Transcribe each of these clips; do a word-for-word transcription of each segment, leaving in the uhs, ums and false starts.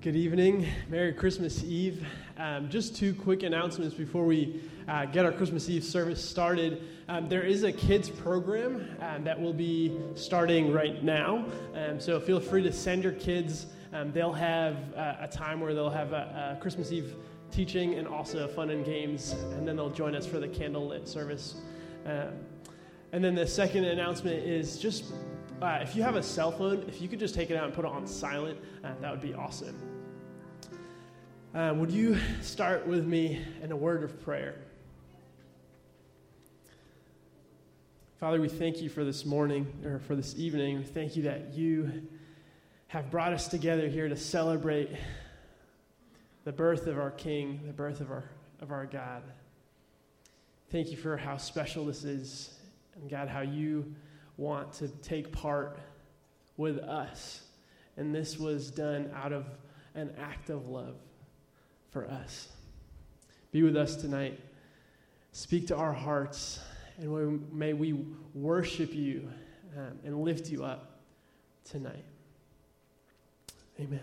Good evening. Merry Christmas Eve. Um, just two quick announcements before we uh, get our Christmas Eve service started. Um, there is a kids program um, that will be starting right now. Um, so feel free to send your kids. Um, they'll have uh, a time where they'll have a, a Christmas Eve teaching and also fun and games. And then they'll join us for the candlelit service. Um, and then the second announcement is just uh, if you have a cell phone, if you could just take it out and put it on silent, uh, that would be awesome. Uh, would you start with me in a word of prayer? Father, we thank you for this morning, or for this evening. We thank you that you have brought us together here to celebrate the birth of our King, the birth of our of our God. Thank you for how special this is, and God, how you want to take part with us. And this was done out of an act of love for us. Be with us tonight. Speak to our hearts, and may we worship you um, and lift you up tonight. Amen.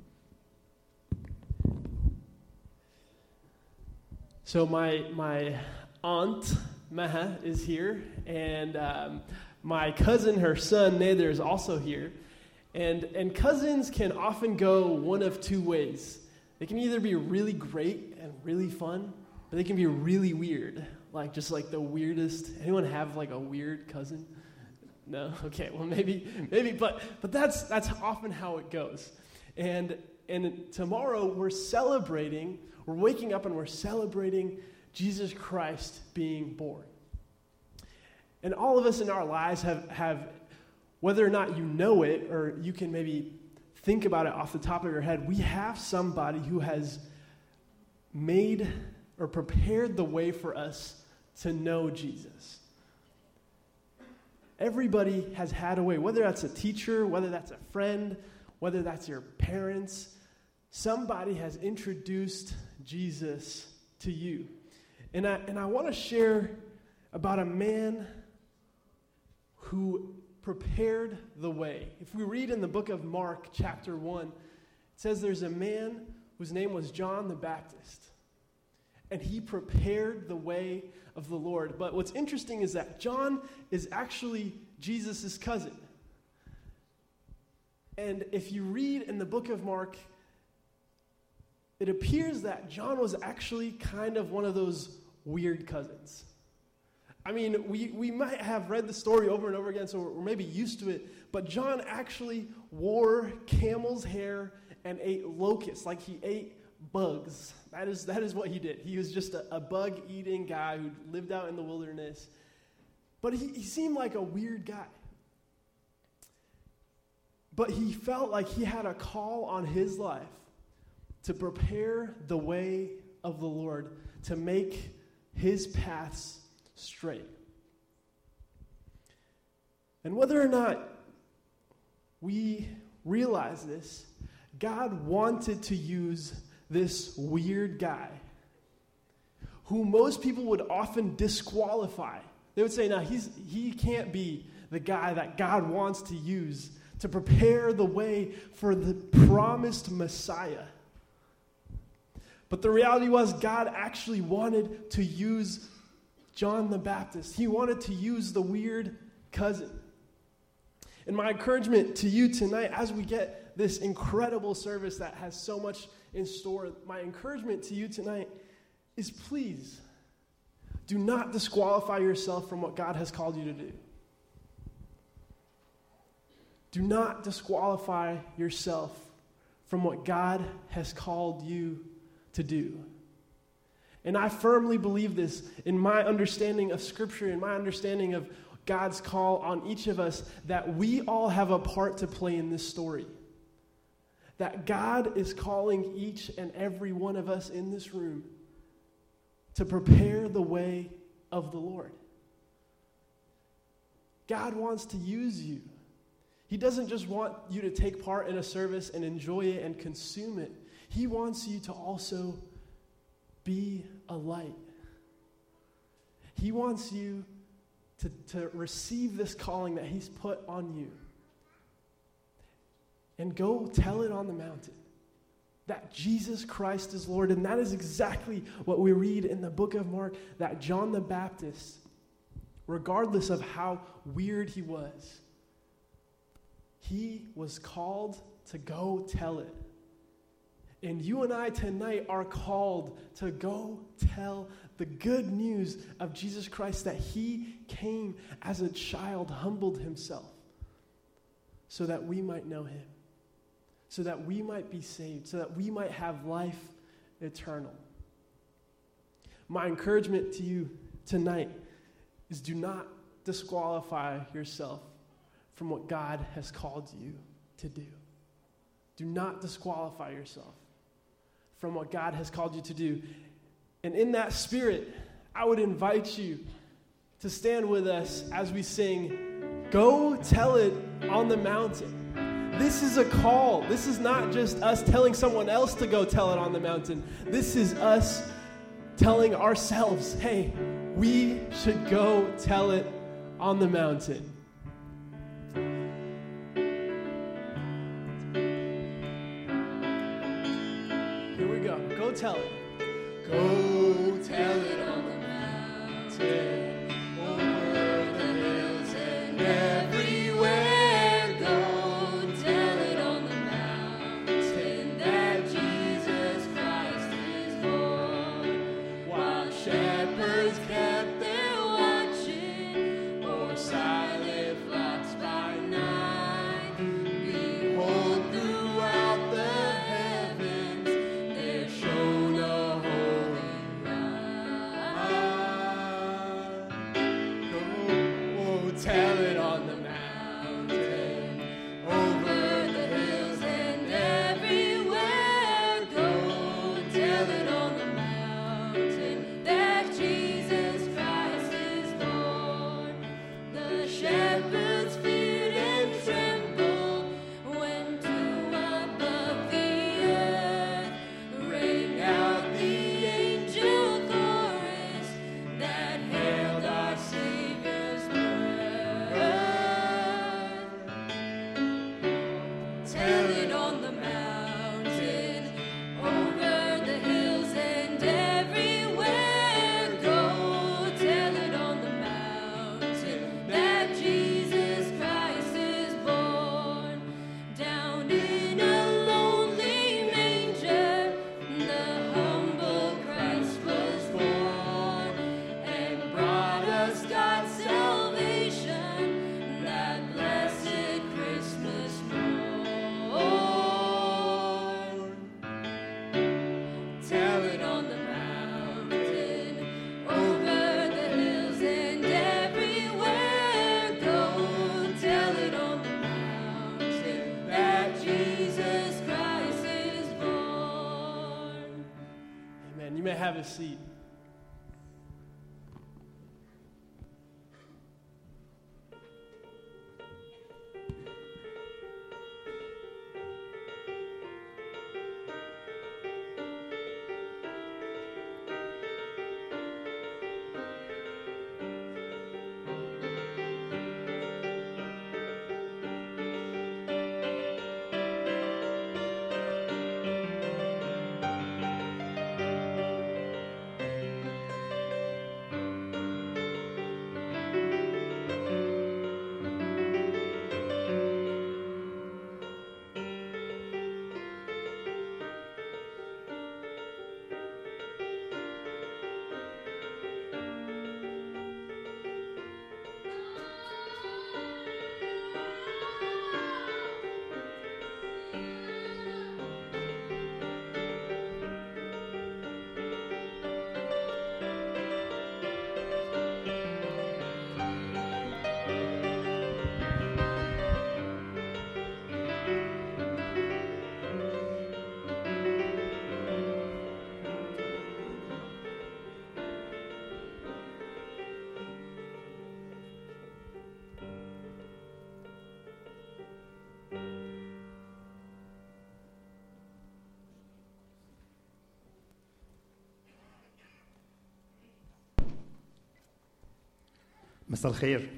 So my my aunt Maha is here, and um, my cousin, her son Nader, is also here. And and cousins can often go one of two ways. They can either be really great and really fun, but they can be really weird, like just like the weirdest. Anyone have like a weird cousin? No? Okay, well maybe, maybe, but but that's that's often how it goes. And and tomorrow we're celebrating, we're waking up and we're celebrating Jesus Christ being born. And all of us in our lives have, have, whether or not you know it, or you can maybe think about it off the top of your head, we have somebody who has made or prepared the way for us to know Jesus. Everybody has had a way, whether that's a teacher, whether that's a friend, whether that's your parents, somebody has introduced Jesus to you. And I, and I want to share about a man who prepared the way. If we read in the book of Mark, chapter one, it says there's a man whose name was John the Baptist, and he prepared the way of the Lord. But what's interesting is that John is actually Jesus' cousin. And if you read in the book of Mark, it appears that John was actually kind of one of those weird cousins. I mean, we, we might have read the story over and over again, so we're maybe used to it, but John actually wore camel's hair and ate locusts, like he ate bugs. That is that is what he did. He was just a, a bug-eating guy who lived out in the wilderness. But he, he seemed like a weird guy. But he felt like he had a call on his life to prepare the way of the Lord, to make his paths straight. And whether or not we realize this, God wanted to use this weird guy who most people would often disqualify. They would say, no, he's he can't be the guy that God wants to use to prepare the way for the promised Messiah. But the reality was, God actually wanted to use John the Baptist. He wanted to use the weird cousin. And my encouragement to you tonight, as we get this incredible service that has so much in store, my encouragement to you tonight is, please do not disqualify yourself from what God has called you to do. Do not disqualify yourself from what God has called you to do. And I firmly believe this in my understanding of Scripture, in my understanding of God's call on each of us, that we all have a part to play in this story. That God is calling each and every one of us in this room to prepare the way of the Lord. God wants to use you. He doesn't just want you to take part in a service and enjoy it and consume it. He wants you to also be a light. He wants you to, to receive this calling that he's put on you. And go tell it on the mountain. that Jesus Christ is Lord. And that is exactly what we read in the book of Mark, that John the Baptist, regardless of how weird he was, he was called to go tell it. And you and I tonight are called to go tell the good news of Jesus Christ, that he came as a child, humbled himself, so that we might know him, so that we might be saved, so that we might have life eternal. My encouragement to you tonight is do not disqualify yourself from what God has called you to do. Do not disqualify yourself from what God has called you to do. And in that spirit, I would invite you to stand with us as we sing, "Go Tell It on the Mountain." This is a call. This is not just us telling someone else to go tell it on the mountain. This is us telling ourselves, hey, we should go tell it on the mountain. Here we go. Go tell it. Go tell it on the mountain, over the hills and everywhere. Go tell it on the mountain that Jesus Christ is born. While shepherds kept their watching o'er silent flocks by night, behold, throughout the heavens there shone a holy light. Go tell it on the mountain, over the hills and everywhere. Go tell it on the mountain that Jesus Christ is born. The shepherds feared and trembled when to above the earth rang out the angel chorus that hailed our Savior's birth. Tell it on the mountain, over the hills and everywhere. Go tell it on the mountain that Jesus Christ is born. Down in a lonely manger, the humble Christ was born, and brought us God's salvation that blessed Christmas morn. Tell it on the mountain, over the hills and everywhere. Go tell it on the mountain that Jesus Christ is born. Amen. You may have a seat. مساء الخير.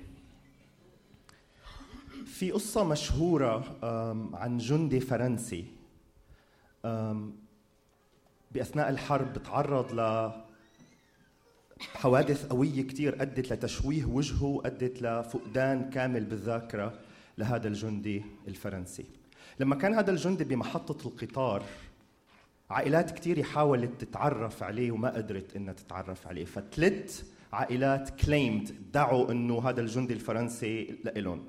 في قصة مشهورة عن جندي فرنسي بأثناء الحرب تعرض لحوادث قوية كتير أدت لتشويه وجهه وأدت لفقدان كامل بالذاكرة لهذا الجندي الفرنسي. لما كان هذا الجندي بمحطة القطار عائلات كتير حاولت تتعرف عليه وما قدرت إنها تتعرف عليه، فثلاث عائلات claimed دعوا إنه هذا الجندي الفرنسي لإلهم،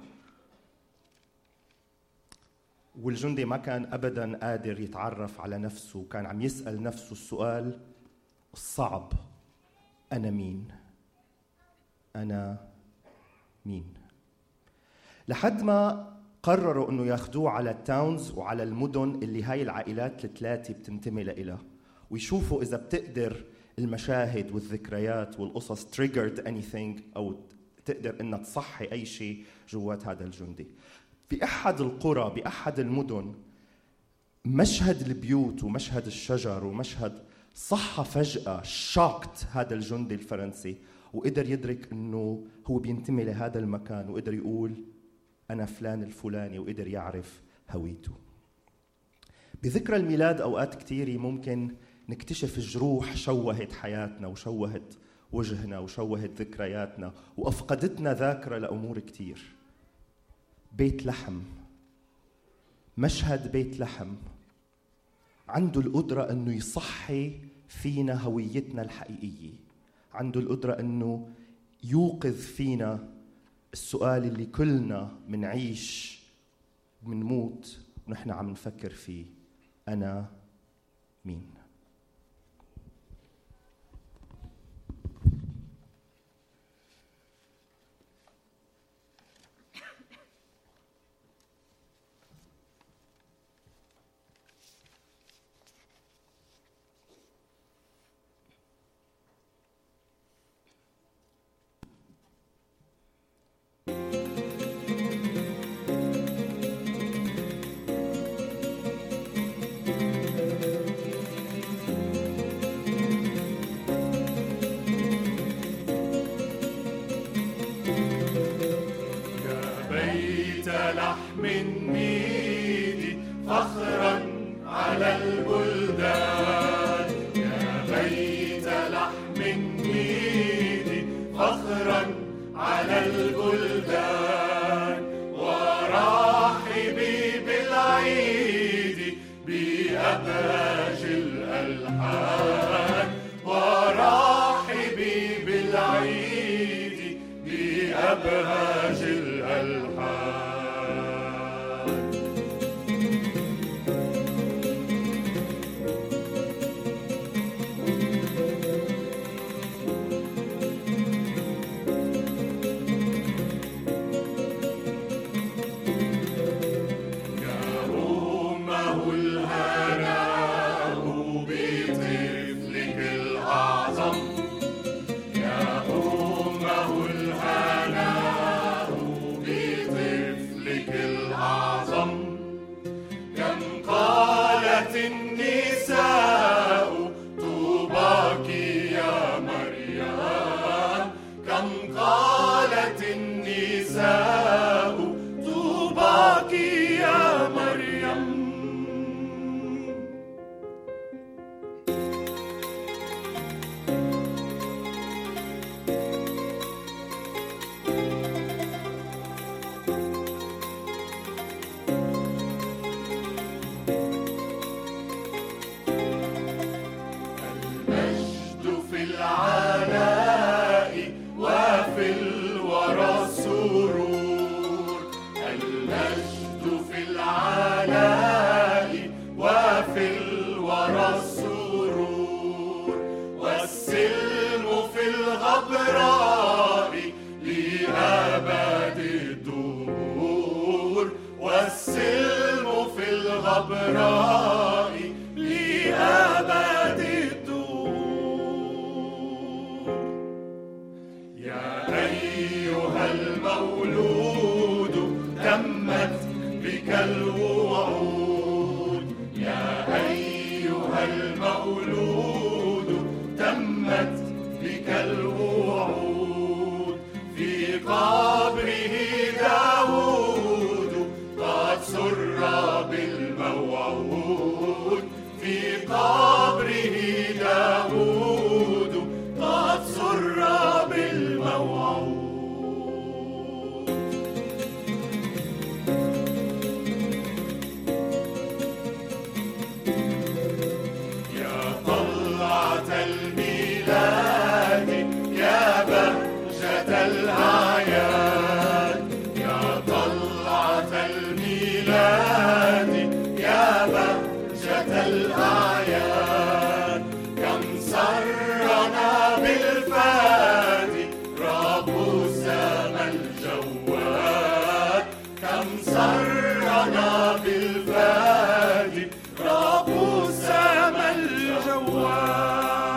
والجندي ما كان أبداً قادر يتعرف على نفسه، كان عم يسأل نفسه السؤال الصعب: أنا مين؟ أنا مين؟ لحد ما قرروا إنه ياخدوه على التاونز وعلى المدن اللي هاي العائلات الثلاثة بتنتمي لها، ويشوفوا إذا بتقدر المشاهد والذكريات والقصص triggered anything أو تقدر إنها تصحي أي شيء جوات هذا الجندي. بأحد القرى بأحد المدن مشهد البيوت ومشهد الشجر ومشهد صحى فجأة شاكت هذا الجندي الفرنسي، وقدر يدرك إنه هو بينتمي لهذا المكان، وقدر يقول أنا فلان الفلاني، وقدر يعرف هويته. بذكرى الميلاد أوقات كتيرة ممكن نكتشف جروح شوهت حياتنا وشوهت وجهنا وشوهت ذكرياتنا وأفقدتنا ذاكرة لأمور كتير. بيت لحم، مشهد بيت لحم عنده القدرة أنه يصحي فينا هويتنا الحقيقية، عنده القدرة أنه يوقظ فينا السؤال اللي كلنا منعيش منموت ونحن عم نفكر فيه: أنا مين؟ قبره داود قد سر بالموعود. يا طلعة الميلاد يا بهجة الأعياد، يا طلعة الميلاد يا بهجة الأعياد، كم سرنا بالفادي رب السما الجواد، كم سرنا بالفادي رب السما الجواد.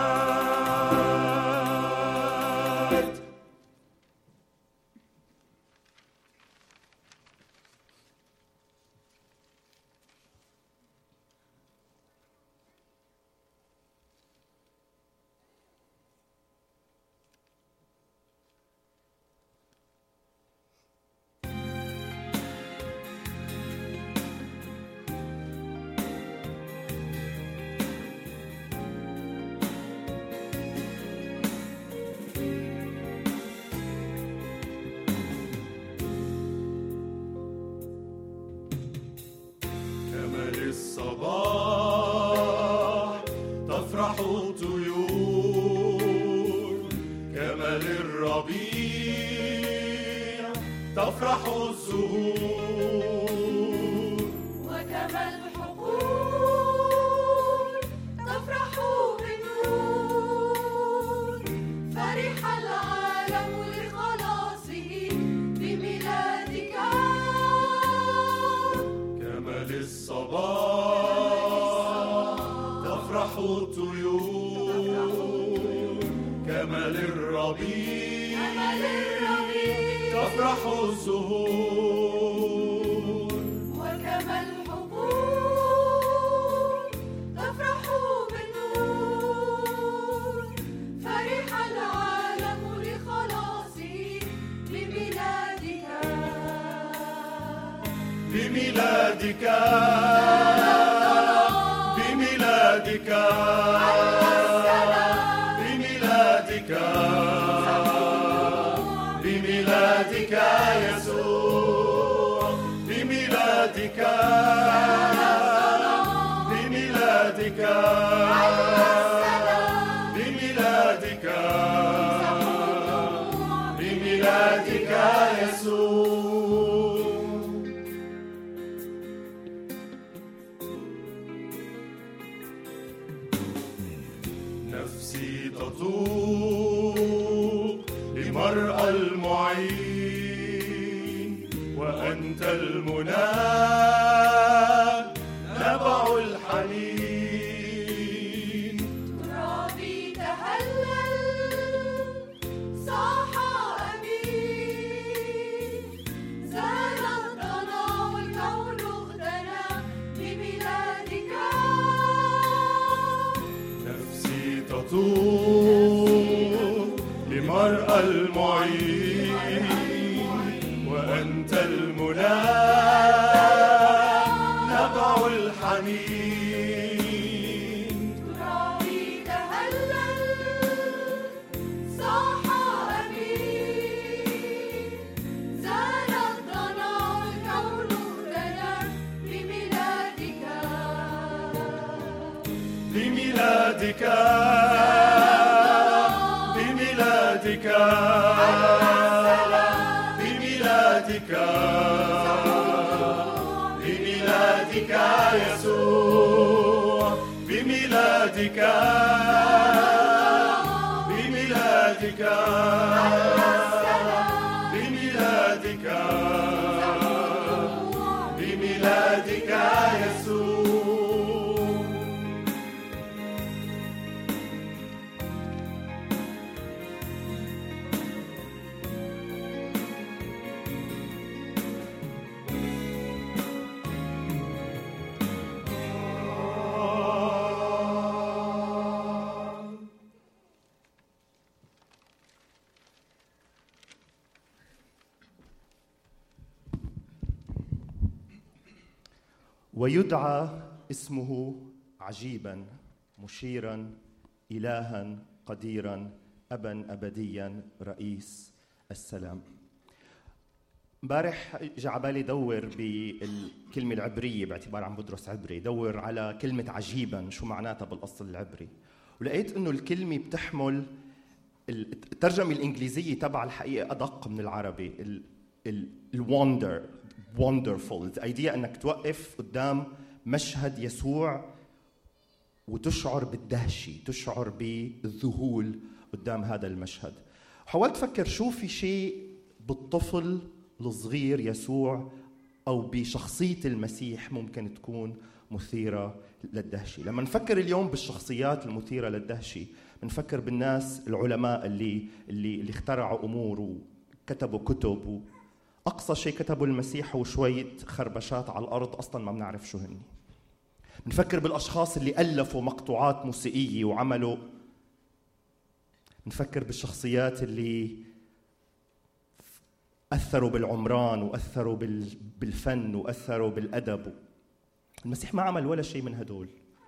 الصباح تفرح الطيور، كما للربيع تفرح الزهور، وكما الحقول تفرح بالنور، فرح العالم لخلاصه بميلادك. كما للصباح تفرح الطيور، كما للربيع تفرح الزهور، وكما الحقول تفرح بالنور، فرح العالم لخلاصه بميلادك. بميلادك بميلادك بميلادك بميلادك يسوع، بميلادك بميلادك بميلادك بميلادك يسوع. نفسي تطوق لمرأى المعين، وأنت المنى نبع الحنين. ترابي تهلل صاح أمين، زال الضنا والكون اغتنى بميلادك. نفسي تطوق لمرأى المعين، وأنت المنى نبع الحنين. ترابي تهلل صاح أمين، زال الضنا والكون اغتنى بميلادك. بميلادك بميلادك بميلادك بميلادك يسوع، بميلادك بميلادك بميلادك بميلادك يسوع. ويدعى اسمه عجيبا مشيرا إلها قديرا أبا أبديا رئيس السلام. امبارح جاء على بالي دور بالكلمة العبرية باعتبار عم بدرس عبري، دور على كلمة عجيبا شو معناتها بالأصل العبري، ولقيت إنه الكلمة بتحمل الترجمة الإنجليزية تبع الحقيقة أدق من العربي. الwonder wonderful الأيديا أنك توقف قدام مشهد يسوع وتشعر بالدهشة، تشعر بالذهول قدام هذا المشهد. حاولت أفكر شو في شيء بالطفل الصغير يسوع أو بشخصية المسيح ممكن تكون مثيرة للدهشة. لما نفكر اليوم بالشخصيات المثيرة للدهشة بنفكر بالناس العلماء اللي اللي اللي اخترعوا أمور وكتبوا كتب، وأقصى شيء كتبوا المسيح هو شوية خربشات على الأرض أصلاً ما بنعرف شو هني. نفكر بالأشخاص اللي ألفوا مقطوعات موسيقية وعملوا. نفكر بالشخصيات اللي أثروا بالعمران وأثروا بالفن وأثروا بالأدب. المسيح ما عمل ولا شيء من هدول،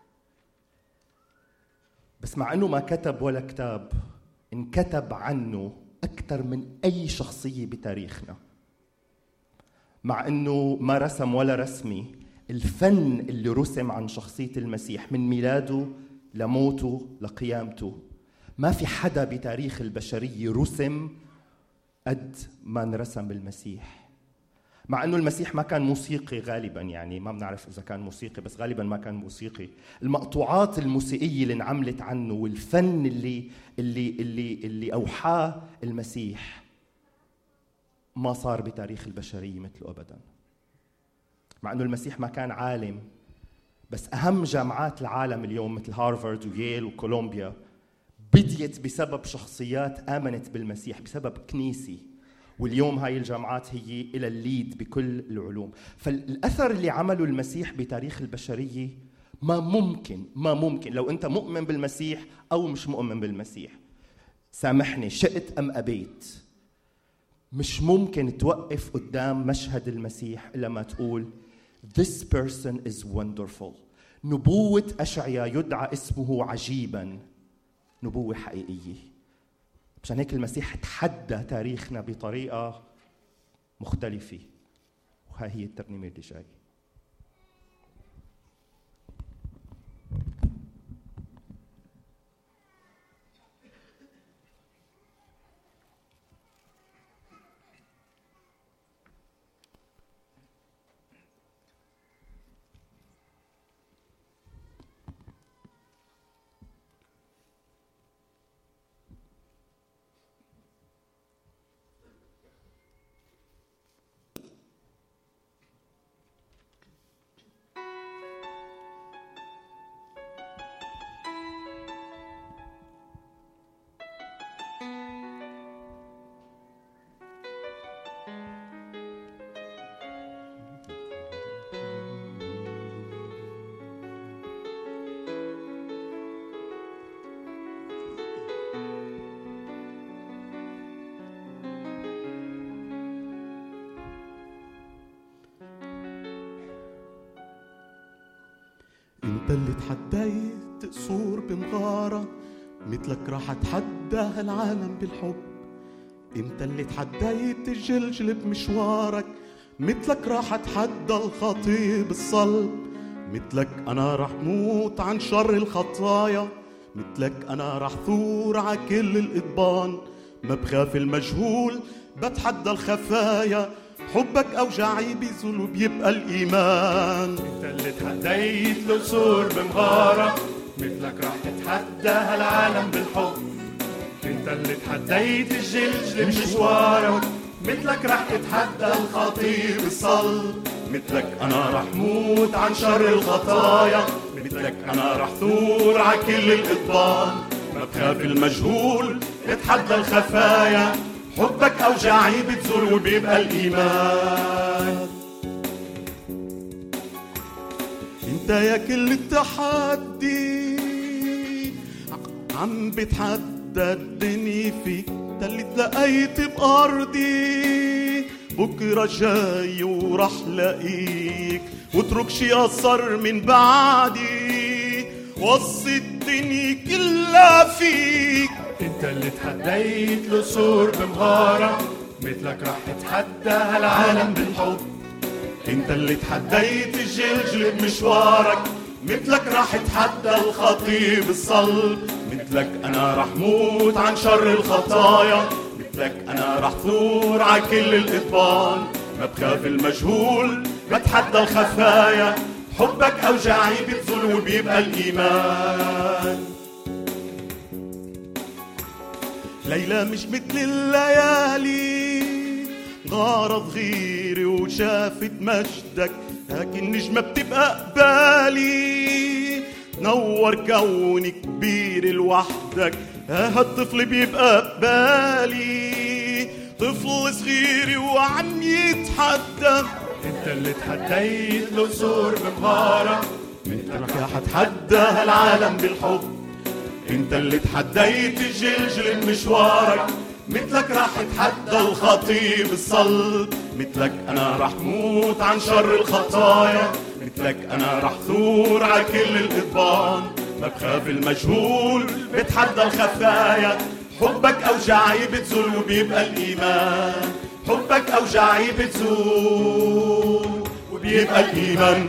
بس مع أنه ما كتب ولا كتاب انكتب عنه أكثر من أي شخصية بتاريخنا. مع أنه ما رسم ولا رسمي، الفن اللي رسم عن شخصية المسيح من ميلاده لموته لقيامته ما في حدا بتاريخ البشرية رسم قد ما انرسم المسيح. مع أنه المسيح ما كان موسيقي غالباً، يعني ما بنعرف إذا كان موسيقي، بس غالباً ما كان موسيقي. المقطوعات الموسيقية اللي انعملت عنه والفن اللي اللي اللي اللي أوحاه المسيح ما صار بتاريخ البشرية مثله أبداً. مع أنه المسيح ما كان عالم، بس أهم جامعات العالم اليوم مثل هارفارد وييل وكولومبيا بديت بسبب شخصيات آمنت بالمسيح، بسبب كنيسي، واليوم هاي الجامعات هي إلى الليد بكل العلوم. فالأثر اللي عمله المسيح بتاريخ البشرية ما ممكن ما ممكن لو أنت مؤمن بالمسيح أو مش مؤمن بالمسيح، سامحني شئت أم أبيت، مش ممكن توقف قدام مشهد المسيح إلا ما تقول This person is wonderful. نبوة أشعياء يدعى اسمه عجيباً، نبوة حقيقية. مشان هيك المسيح تحدى تاريخنا بطريقة مختلفة، وهي هي الترنيمة اللي جاي. انت اللي تحديت قصور بمغارة، مثلك راح اتحدى هالعالم بالحب. انت اللي تحديت الجلجل بمشوارك، مثلك راح اتحدى الخطية بالصلب. مثلك انا راح موت عن شر الخطايا، مثلك انا راح ثور ع كل الإضبان. ما بخاف المجهول بتحدى الخفايا، حبك أوجاعي بيزول وبيبقى الإيمان. انت اللي تحديت القصور بمغارة، مثلك راح تتحدى هالعالم بالحب. انت اللي تحديت الجلجل بمشوارك، مثلك راح تتحدى الخطية بالصلب. مثلك أنا راح موت عن شر الخطايا، مثلك أنا راح ثور ع كل الإضبان. ما بخاف المجهول اتحدى الخفايا، حبك أوجاعي بتزول وبيبقى الإيمان. انت يا كل التحدي عم بتحدى الدنيا فيك. انت اللي تلاقيت بأرضي، بكرة جاي ورح لاقيك، واترك شي أثر من بعدي. وصي الدنيا كلها فيك. انت اللي تحديت القصور بمغارة، مثلك راح تتحدى هالعالم بالحب. انت اللي تحديت الجلجل بمشوارك، مثلك راح تحدى الخطيب الصلب. مثلك انا راح موت عن شر الخطايا، مثلك انا راح ثور على كل الإطبان. ما بخاف المجهول، بتحدى الخفايا، حبك اوجاعي بتزول وبيبقى الايمان. ليلى مش مثل الليالي، غارة صغيرة وشافت مجدك، لكن نجمة بتبقى قبالي، نور كوني كبير لوحدك، هالطفل بيبقى قبالي، طفل صغير وعم يتحدى. انت اللي تحديت القصور بمغارة، مثلك رح اتحدى هالعالم بالحب. انت اللي تحديت الجلجل بمشوارك، مثلك راح تحدى الخطيب الصلب. مثلك انا راح موت عن شر الخطايا، مثلك انا راح ثور على كل الإضبان. ما بخاف المجهول، بتحدى الخفايا، حبك اوجاعي بتزول وبيبقى الايمان. حبك اوجاعي بتزول وبيبقى الايمان.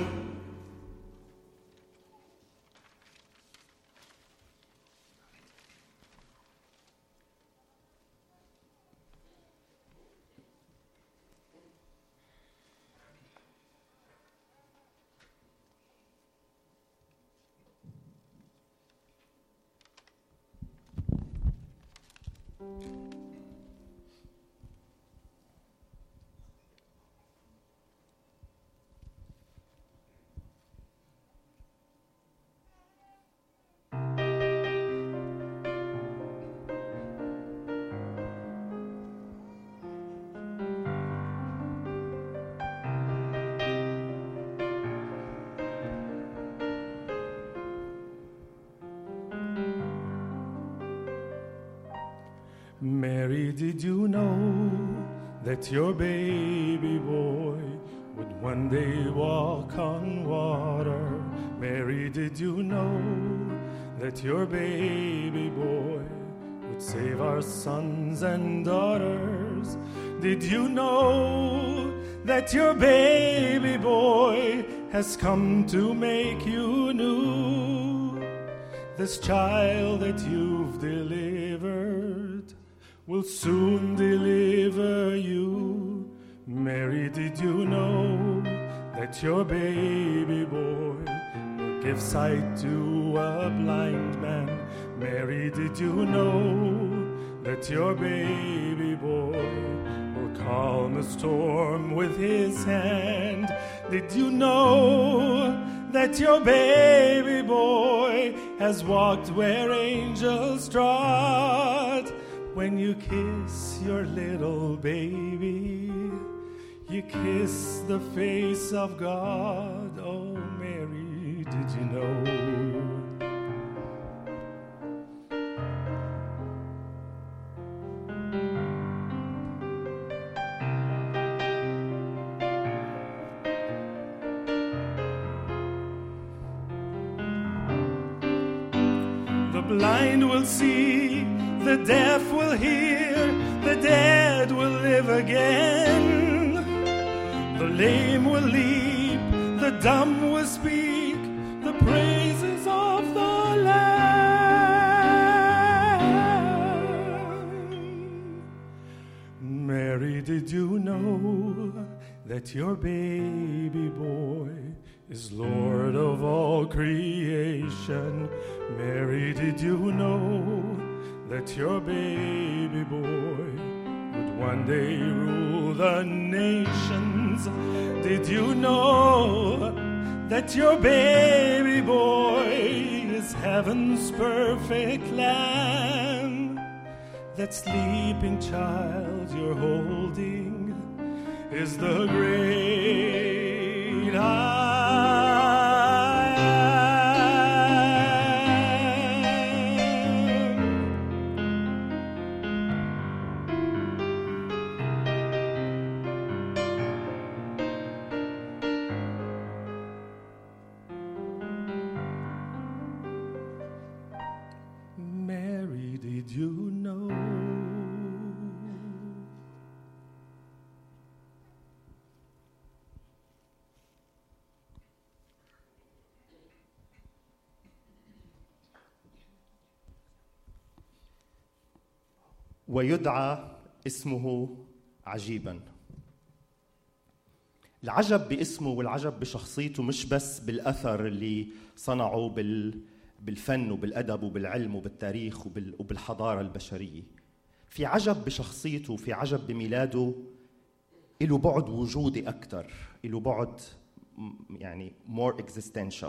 Mary, did you know that your baby boy would one day walk on water? Mary, did you know that your baby boy would save our sons and daughters? Did you know that your baby boy has come to make you new? This child that you've delivered will soon deliver you. Mary, did you know that your baby boy will give sight to a blind man? Mary, did you know that your baby boy will calm a storm with his hand? Did you know that your baby boy has walked where angels trod? When you kiss your little baby, you kiss the face of God. Oh, Mary, did you know? The blind will see, the deaf will hear, the dead will live again. The lame will leap, the dumb will speak, the praises of the Lamb. Mary, did you know that your baby boy is Lord of all creation? Mary, did you know that your baby boy would one day rule the nations? Did you know that your baby boy is heaven's perfect lamb? That sleeping child you're holding is the great I did you know? ويدعى اسمه عجيبا. العجب باسمه والعجب بشخصيته مش بس بالأثر اللي صنعه بال بالفن وبالأدب وبالعلم وبالتاريخ وبالحضارة البشرية. في عجب بشخصيته وفي عجب بميلاده، له بعد وجودي أكتر، له بعد يعني more existential.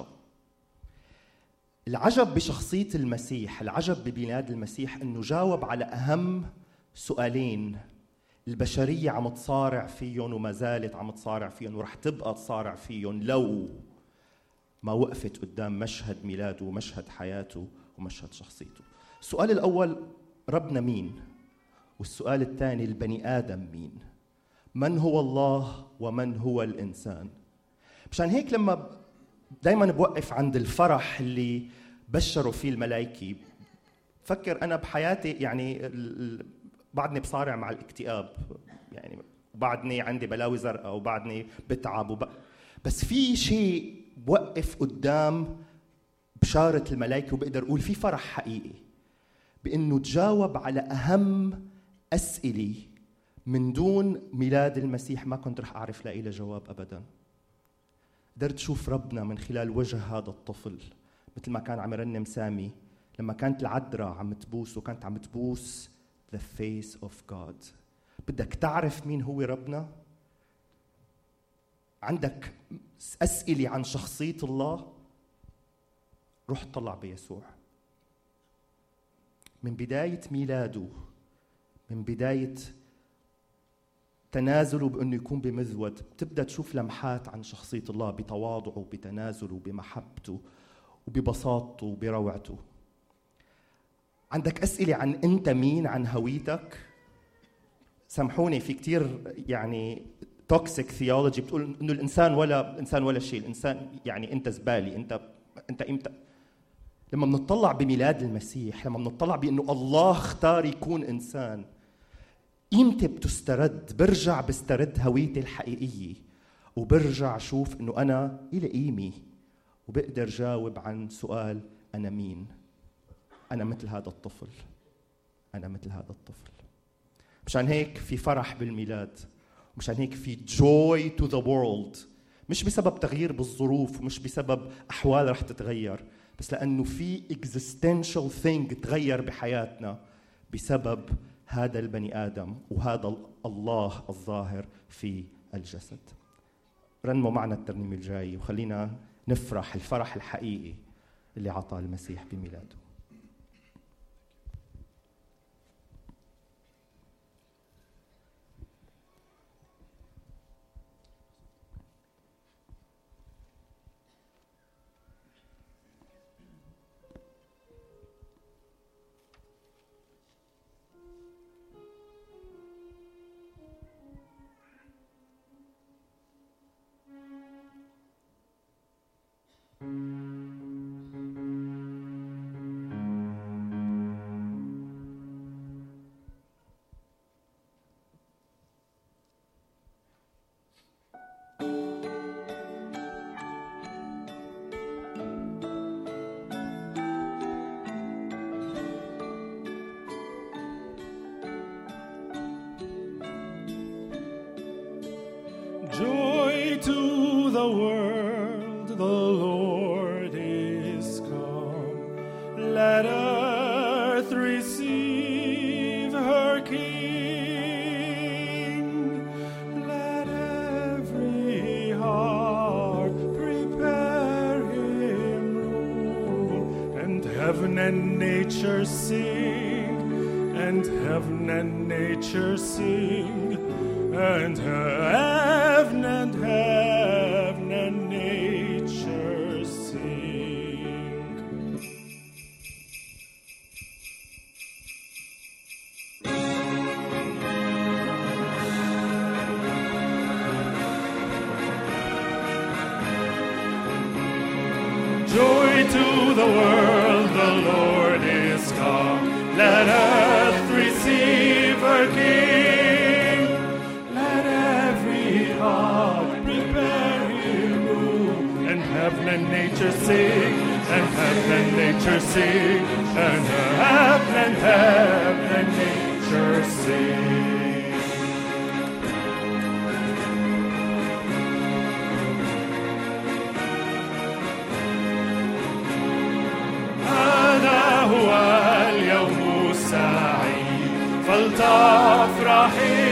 العجب بشخصية المسيح، العجب بميلاد المسيح إنه جاوب على أهم سؤالين البشرية عم تصارع فيهم وما زالت عم تصارع فيهم ورح تبقى تصارع فيهم لو ما وقفت قدام مشهد ميلاده ومشهد حياته ومشهد شخصيته. السؤال الأول ربنا مين؟ والسؤال الثاني البني آدم مين؟ من هو الله ومن هو الإنسان؟ مشان هيك لما دايما بوقف عند الفرح اللي بشروا فيه الملائكة، فكر أنا بحياتي يعني بعدني بصارع مع الاكتئاب، يعني بعدني عندي بلاوي زرقاء وبعدني بتعب وب... بس في شيء بوقف قدام بشارة الملائكة وبقدر أقول في فرح حقيقي بأنه تجاوب على أهم أسئلة من دون ميلاد المسيح ما كنت رح أعرف لاقي له جواب أبداً. قدرت أشوف ربنا من خلال وجه هذا الطفل، مثل ما كان عم يرنم سامي لما كانت العذراء عم تبوس وكانت عم تبوس the face of God. بدك تعرف مين هو ربنا؟ عندك أسئلة عن شخصية الله؟ روح طلع بيسوع. من بداية ميلاده، من بداية تنازله بأنه يكون بمذود، بتبدأ تشوف لمحات عن شخصية الله بتواضعه بتنازله بمحبته وببساطته وبروعته. عندك أسئلة عن أنت مين، عن هويتك. سامحوني في كتير يعني توكسيك ثيولوجي بتقول إنه الإنسان ولا الإنسان ولا شيء، الإنسان يعني أنت زبالي، أنت أنت إمتى. لما بنطلع بميلاد المسيح، لما بنطلع بأنه الله اختار يكون إنسان، قيمتي بتسترد، برجع بسترد هويتي الحقيقية وبرجع أشوف إنه أنا إلي قيمة وبقدر جاوب عن سؤال أنا مين. أنا مثل هذا الطفل، أنا مثل هذا الطفل. مشان هيك في فرح بالميلاد، مشان هيك في joy to the world، مش بسبب تغيير بالظروف ومش بسبب أحوال رح تتغير، بس لأنه في existential thing تغير بحياتنا بسبب هذا البني آدم وهذا الله الظاهر في الجسد. رنموا معنا الترنيمة الجاية وخلينا نفرح الفرح الحقيقي اللي عطاه المسيح بميلاده. Joy to the world, the Lord is come. Let earth receive her King. Let every heart prepare him room. And heaven and nature sing, and heaven and nature sing, and heaven and heaven and nature sing. Joy to the world, the Lord is come. Let us nature sing, and heaven and nature sing, and heaven and heaven and nature sing. هذا هو اليوم السعيد فلتفرح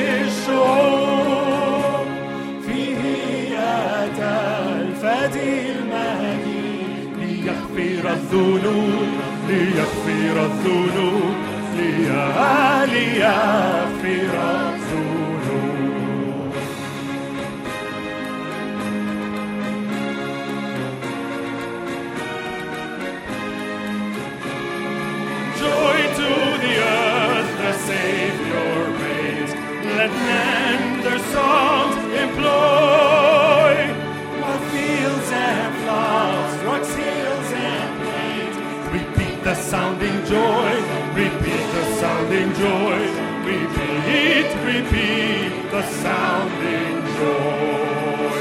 الشعوب، فيه أتى الفادي المجيد ليغفر الذنوب، ليغفر الذنوب، ليغفر الذنوب. Joy to the earth, the Savior reigns. Let men their songs employ. While fields and floods, rocks, hills and plains, repeat the sounding joy, repeat the sounding joy, repeat, repeat the sounding joy.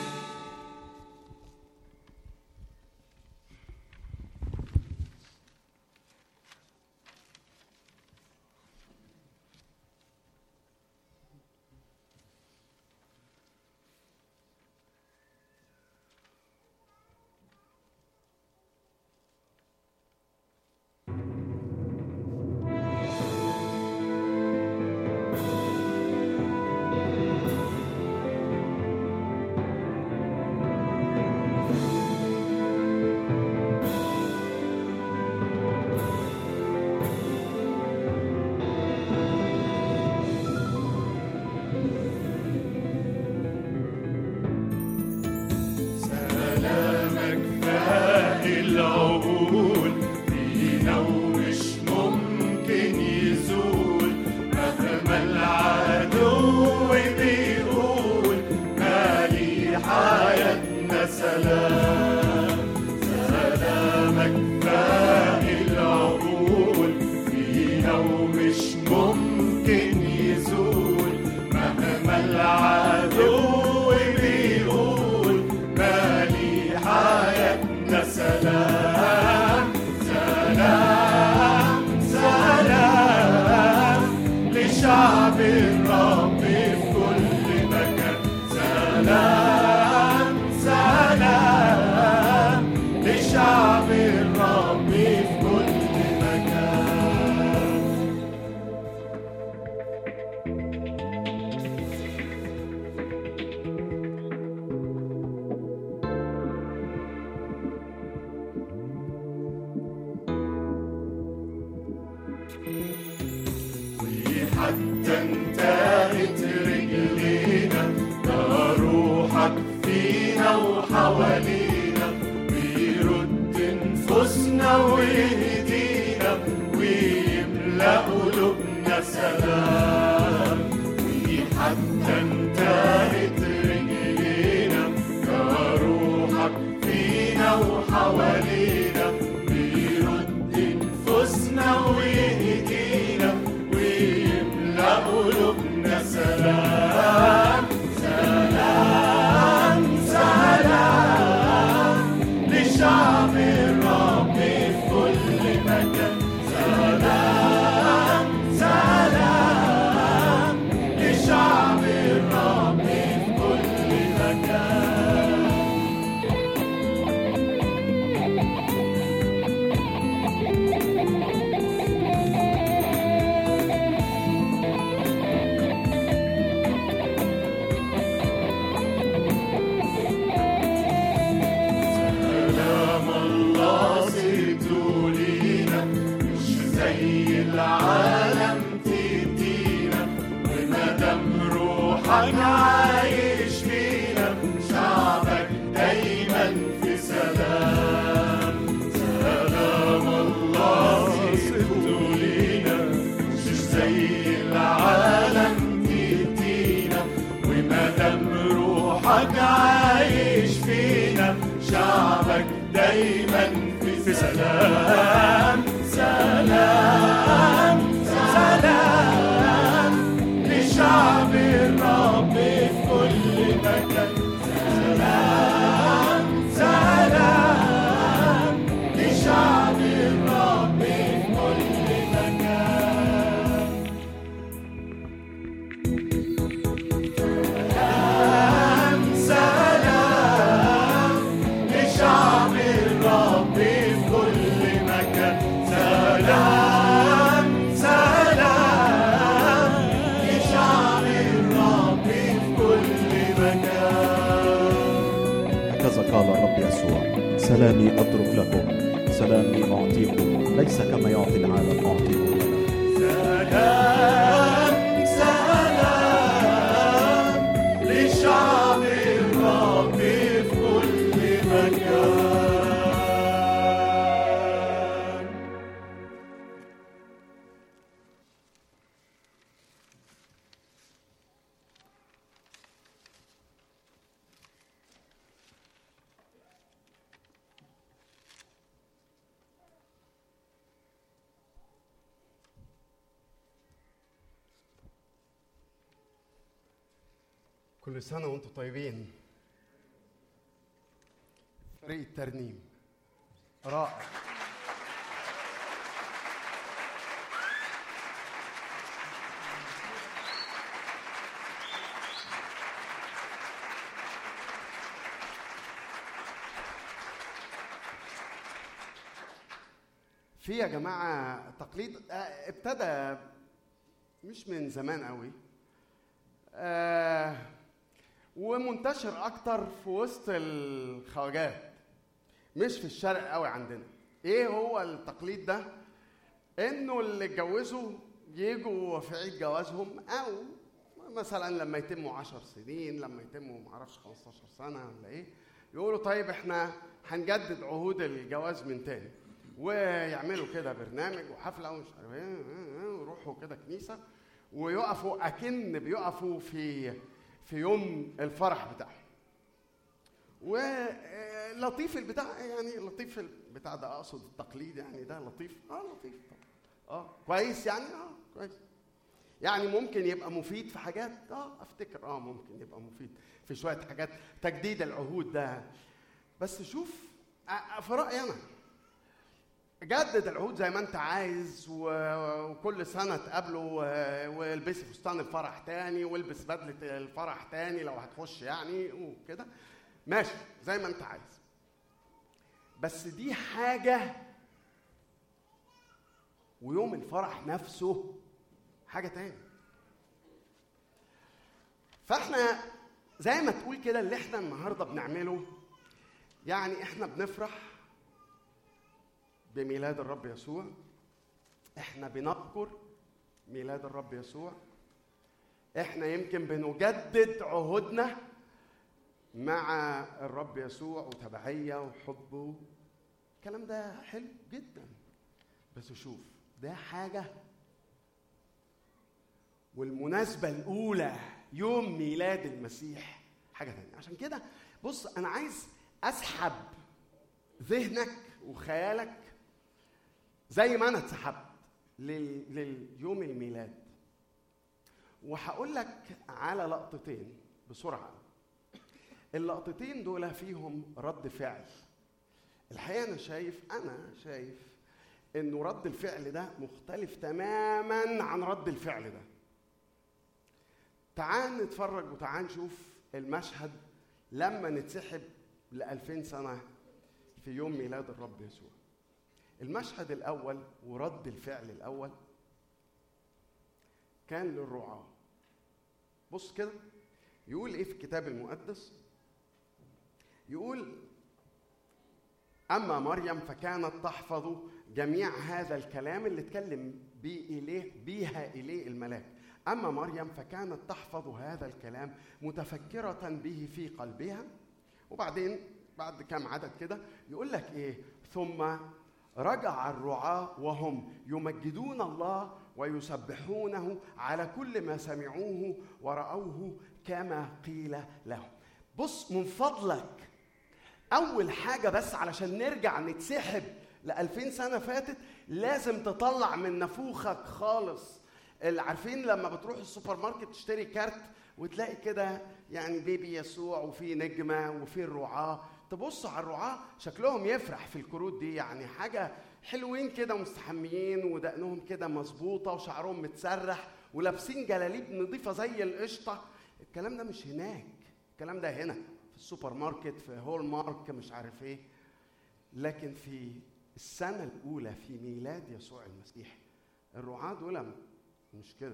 حتى انتهت رجلينا روحك فينا وحوالينا، ويرد نفوسنا ويهدينا ويملأ قلوبنا سلام. وحتى انتهت رجلينا روحك فينا وحوالينا، ويرد نفوسنا ويهدينا ويملأ قلوبنا سلام. سلام سلام لشعب الرب في كل مكان. سلام سلام لشعب الرب في كل مكان. العالم تدينا ومدام روحك عايش فينا، شعبك دايما في سلام. سلام الله سبته لينا مش زي العالم تدينا، ومدام روحك عايش فينا، شعبك دايما في سلام. سلام سلام لشعب الرب في كل مكان. سلام سلام سلامي أترك لكم، سلامي أعطيكم، ليس كما يعطي العالم أعطيكم لنا. سلام سلام لشعب الرب في كل مكان. كل سنة وانتم طيبين. فريق الترنيم رائع. في يا جماعة تقليد ابتدى مش من زمان قوي، آه ومنتشر اكتر في وسط الخواجات، مش في الشرق قوي عندنا. ايه هو التقليد ده؟ انه اللي اتجوزوا يجوا في عيد جوازهم، او مثلا لما يتموا عشر سنين، لما يتموا معرفش خمستاشر سنة ولا ايه، يقولوا طيب احنا هنجدد عهود الجواز من تاني، ويعملوا كده برنامج وحفلة ومش عارف ايه، ويروحوا كده كنيسة ويقفوا اكن بيقفوا في في يوم الفرح بتاعهم. ولطيف البتاع، يعني لطيف البتاع ده، اقصد التقليد يعني ده لطيف. اه لطيف طبعا. اه كويس يعني. اه كويس يعني. ممكن يبقى مفيد في حاجات، اه افتكر اه ممكن يبقى مفيد في شويه حاجات، تجديد العهود ده. بس شوف، في رايي انا جدد العهود زي ما انت عايز، وكل سنه تقابله والبسي فستان الفرح تاني، والبس بدله الفرح تاني لو هتخش يعني وكده، ماشي زي ما انت عايز. بس دي حاجه، ويوم الفرح نفسه حاجه تاني. فاحنا زي ما تقول كده اللي احنا النهارده بنعمله، يعني احنا بنفرح بميلاد الرب يسوع، احنا بنذكر ميلاد الرب يسوع، احنا يمكن بنجدد عهودنا مع الرب يسوع وتبعية وحبه. الكلام ده حلو جدا، بس شوف ده حاجة، والمناسبة الأولى يوم ميلاد المسيح حاجة تانية. عشان كده بص، أنا عايز أسحب ذهنك وخيالك زي ما أنا اتسحبت لليوم الميلاد، وهقول لك على لقطتين بسرعة. اللقطتين دول فيهم رد فعل. الحقيقة أنا شايف أنا شايف إنه رد الفعل ده مختلف تماماً عن رد الفعل ده. تعال نتفرج وتعال نشوف المشهد لما نتسحب لألفين سنة في يوم ميلاد الرب يسوع. المشهد الأول ورد الفعل الأول كان للرعاة. بص كده يقول إيه في الكتاب المقدس؟ يقول: أما مريم فكانت تحفظ جميع هذا الكلام اللي اتكلم بيه إليه بيها إليه الملاك. أما مريم فكانت تحفظ هذا الكلام متفكرة به في قلبها. وبعدين بعد كام عدد كده يقول لك إيه؟ ثم رجع الرعاة وهم يمجدون الله ويسبحونه على كل ما سمعوه ورأوه كما قيل لهم. بص من فضلك، أول حاجة بس علشان نرجع نتسحب لألفين سنة فاتت، لازم تطلع من نفوخك خالص. اللي عارفين لما بتروح السوبر ماركت تشتري كارت وتلاقي كده يعني بيبي يسوع وفي نجمة وفي الرعاة، تبص على الرعاة شكلهم يفرح في الكروت دي، يعني حاجة حلوين كده مستحميين ودقنهم كده مظبوطة وشعرهم متسرح ولابسين جلاليب نظيفة زي القشطة. الكلام ده مش هناك، الكلام ده هنا في السوبر ماركت في هول مارك مش عارف ايه. لكن في السنة الأولى في ميلاد يسوع المسيح الرعاة دول مش كده.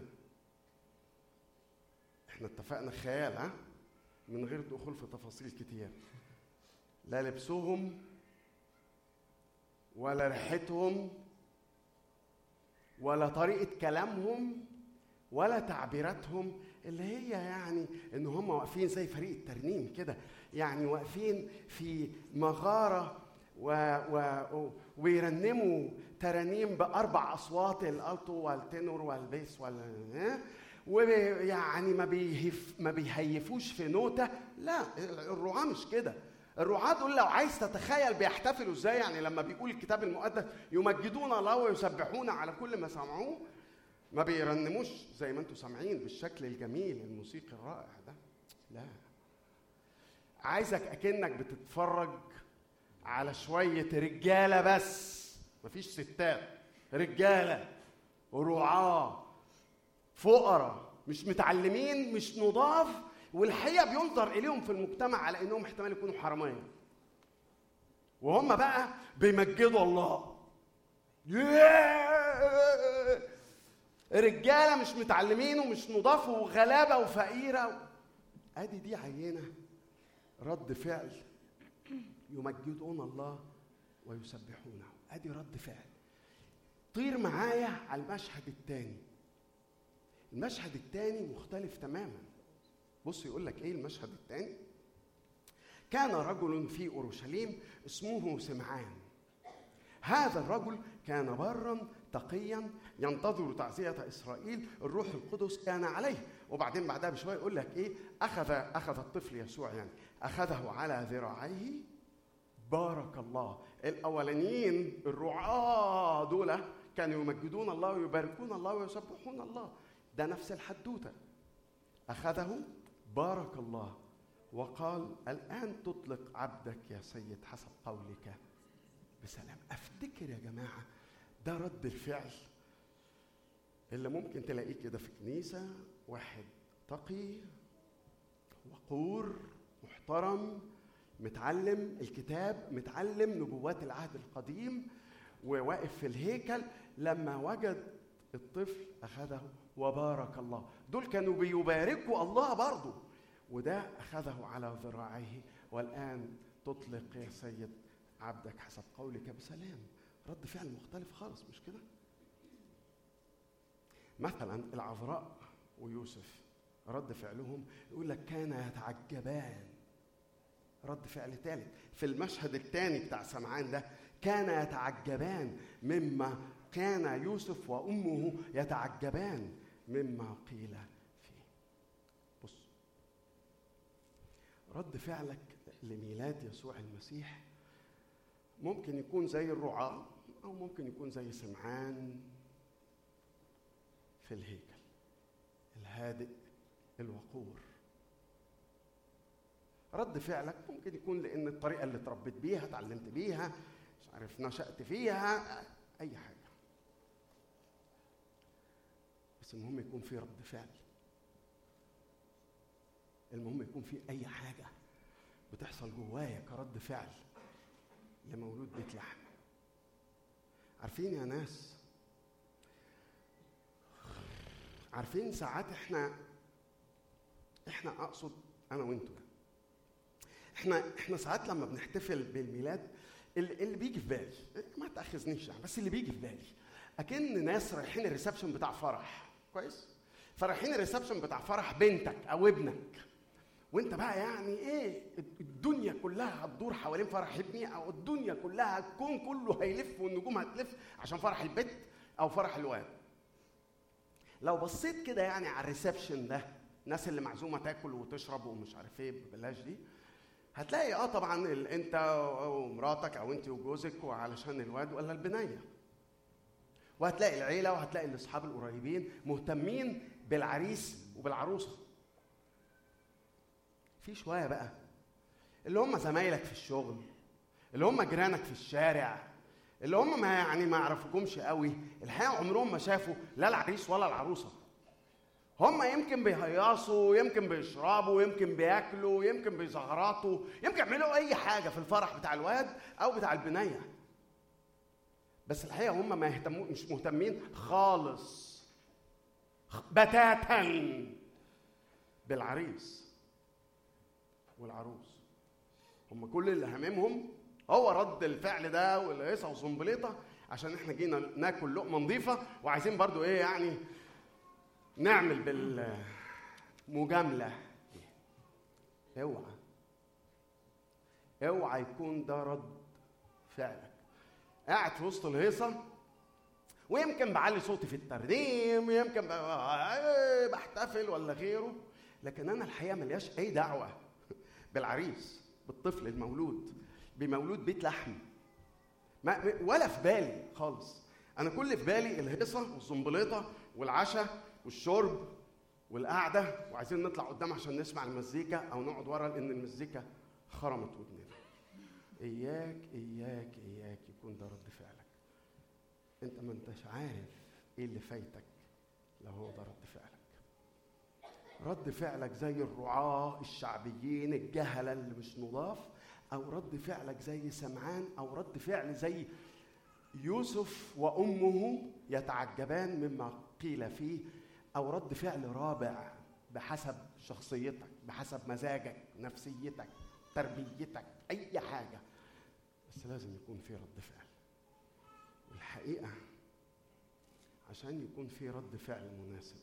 احنا اتفقنا خيال، ها، من غير دخول في تفاصيل كتير. لا لبسهم ولا ريحتهم ولا طريقة كلامهم ولا تعبيراتهم اللي هي يعني ان هم واقفين زي فريق الترنيم كده، يعني واقفين في مغارة و... و... ويرنموا ترانيم بأربع أصوات، الألتو والتنور والبيس وال ويعني ما بيهف ما بيهيفوش في نوتة. لا، الرعاة مش كده. الرعاة دول لو عايز تتخيل بيحتفلوا ازاي، يعني لما بيقول الكتاب المقدس يمجدون الله ويسبحون على كل ما سمعوه، ما بيرنموش زي ما انتم سامعين بالشكل الجميل الموسيقي الرائع ده. لا، عايزك اكنك بتتفرج على شوية رجالة بس، مفيش ستات، رجالة ورعاة فقراء مش متعلمين مش نضاف، والحقيقة بينظر إليهم في المجتمع على إنهم احتمال يكونوا حرامية، وهم بقى بيمجدوا الله. رجالة مش متعلمين ومش نضاف وغلابة وفقيرة. أدي دي عينة رد فعل يمجدون الله ويسبحونه. أدي رد فعل. طير معايا على المشهد الثاني. المشهد الثاني مختلف تماما. بص يقول لك ايه المشهد الثاني. كان رجل في اورشليم اسمه سمعان. هذا الرجل كان برا تقيا ينتظر تعزية اسرائيل، الروح القدس كان عليه. وبعدين بعدها بشويه يقول لك ايه، اخذ اخذ الطفل يسوع يعني اخذه على ذراعيه بارك الله. الاولانيين الرعاة دول كانوا يمجدون الله ويباركون الله ويسبحون الله، ده نفس الحدوته. اخذه بارك الله وقال الآن تطلق عبدك يا سيد حسب قولك بسلام. أفتكر يا جماعة ده رد الفعل اللي ممكن تلاقيه كده في كنيسة، واحد تقي وقور محترم متعلم الكتاب، متعلم نبوات العهد القديم، وواقف في الهيكل لما وجد الطفل أخذه وبارك الله. دول كانوا بيباركوا الله برضو، وده أخذه على ذراعيه والآن تطلق يا سيد عبدك حسب قولك بسلام. رد فعل مختلف خالص، مش كده؟ مثلا العذراء ويوسف رد فعلهم يقول لك كان يتعجبان. رد فعل ثالث في المشهد الثاني بتاع سمعان ده، كان يتعجبان مما كان يوسف وأمه يتعجبان مما قيل فيه. بص، رد فعلك لميلاد يسوع المسيح ممكن يكون زي الرعاة أو ممكن يكون زي سمعان في الهيكل الهادئ الوقور. رد فعلك ممكن يكون لأن الطريقة اللي اتربيت بيها، اتعلمت بيها، مش عارف نشأت فيها، أي حاجة، بس المهم يكون في رد فعل. المهم يكون في أي حاجة بتحصل جوايا كرد فعل لمولود بيت لحم. عارفين يا ناس، عارفين ساعات احنا احنا اقصد انا وانتوا، احنا احنا ساعات لما بنحتفل بالميلاد اللي بيجي في بالي، ما تاخذنيش يعني، بس اللي بيجي في بالي اكن ناس رايحين الريسبشن بتاع فرح كويس، فرايحين الريسبشن بتاع فرح بنتك او ابنك، وانت بقى يعني ايه الدنيا كلها هتدور حوالين فرح ابني، او الدنيا كلها الكون كله هيلف والنجوم هتلف عشان فرح البنت او فرح الواد. لو بصيت كده يعني على الريسبشن ده، الناس اللي معزومه تاكل وتشرب ومش عارف ايه ببلاش دي، هتلاقي اه طبعا انت ومراتك او انت وجوزك وعلشان الواد ولا البنيه، وهتلاقي العيله وهتلاقي الاصحاب القريبين مهتمين بالعريس وبالعروسه. في شويه بقى اللي هم زمايلك في الشغل، اللي هم جيرانك في الشارع، اللي هم ما يعني ما يعرفوكمش قوي، الحقيقه عمرهم ما شافوا لا العريس ولا العروسه. هم يمكن بيهيصوا، يمكن بيشربوا، يمكن بياكلوا، يمكن بيزغرطوا، يمكن يعملوا اي حاجه في الفرح بتاع الواد او بتاع البنيه، بس الحقيقه هم ما يهتموا، مش مهتمين خالص بتاتا بالعريس والعروس. هم كل اللي هممهم هو رد الفعل ده والهيصه والزنبليطه عشان احنا جينا ناكل لقمه نظيفه وعايزين برضو ايه يعني نعمل بالمجامله. اوعى اوعى يكون ده رد فعلك. قاعد في وسط الهيصه ويمكن بعلي صوتي في الترنيم ويمكن بحتفل ولا غيره، لكن انا الحقيقه ملياش اي دعوه بالعريس، بالطفل المولود بمولود بيت لحم، ما ولا في بالي خالص. انا كل في بالي الهيصه والزنبليطه والعشاء والشرب والقعده، وعايزين نطلع قدام عشان نسمع المزيكا او نقعد ورا لان المزيكا خرمت ودننا. اياك اياك اياك يكون ده رد فعلك. انت ما انتش عارف ايه اللي فايتك لو هو ده رد فعلك. رد فعلك زي الرعاة الشعبيين الجهلة اللي مش نضاف، او رد فعلك زي سمعان، او رد فعل زي يوسف وامه يتعجبان مما قيل فيه، او رد فعل رابع بحسب شخصيتك، بحسب مزاجك، نفسيتك، تربيتك، اي حاجة، بس لازم يكون في رد فعل. والحقيقة عشان يكون في رد فعل مناسب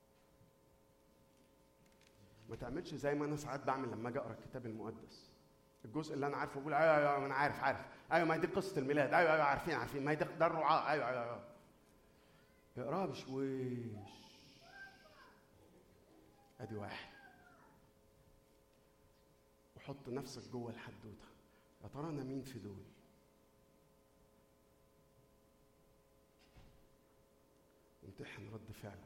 ما تعملش زي ما انا ساعات بعمل لما اجي اقرا الكتاب المقدس، الجزء اللي انا عارفه بقول ايوه ايوه انا عارف عارف ايوه ما هي دي قصه الميلاد، ايوه ايوه عارفين عارفين ما هي ده الرعاة، ايوه ايوه ايوه اقراها بشويش. ادي واحد، وحط نفسك جوه الحدوته، يا ترى انا مين في دول؟ امتحن رد فعلك.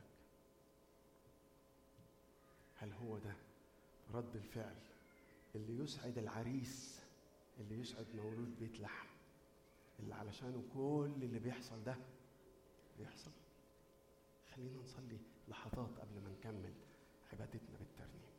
هل هو ده رد الفعل اللي يسعد العريس، اللي يسعد مولود بيت لحم، اللي علشانه كل اللي بيحصل ده بيحصل؟ خلينا نصلي لحظات قبل ما نكمل عبادتنا بالترنيم.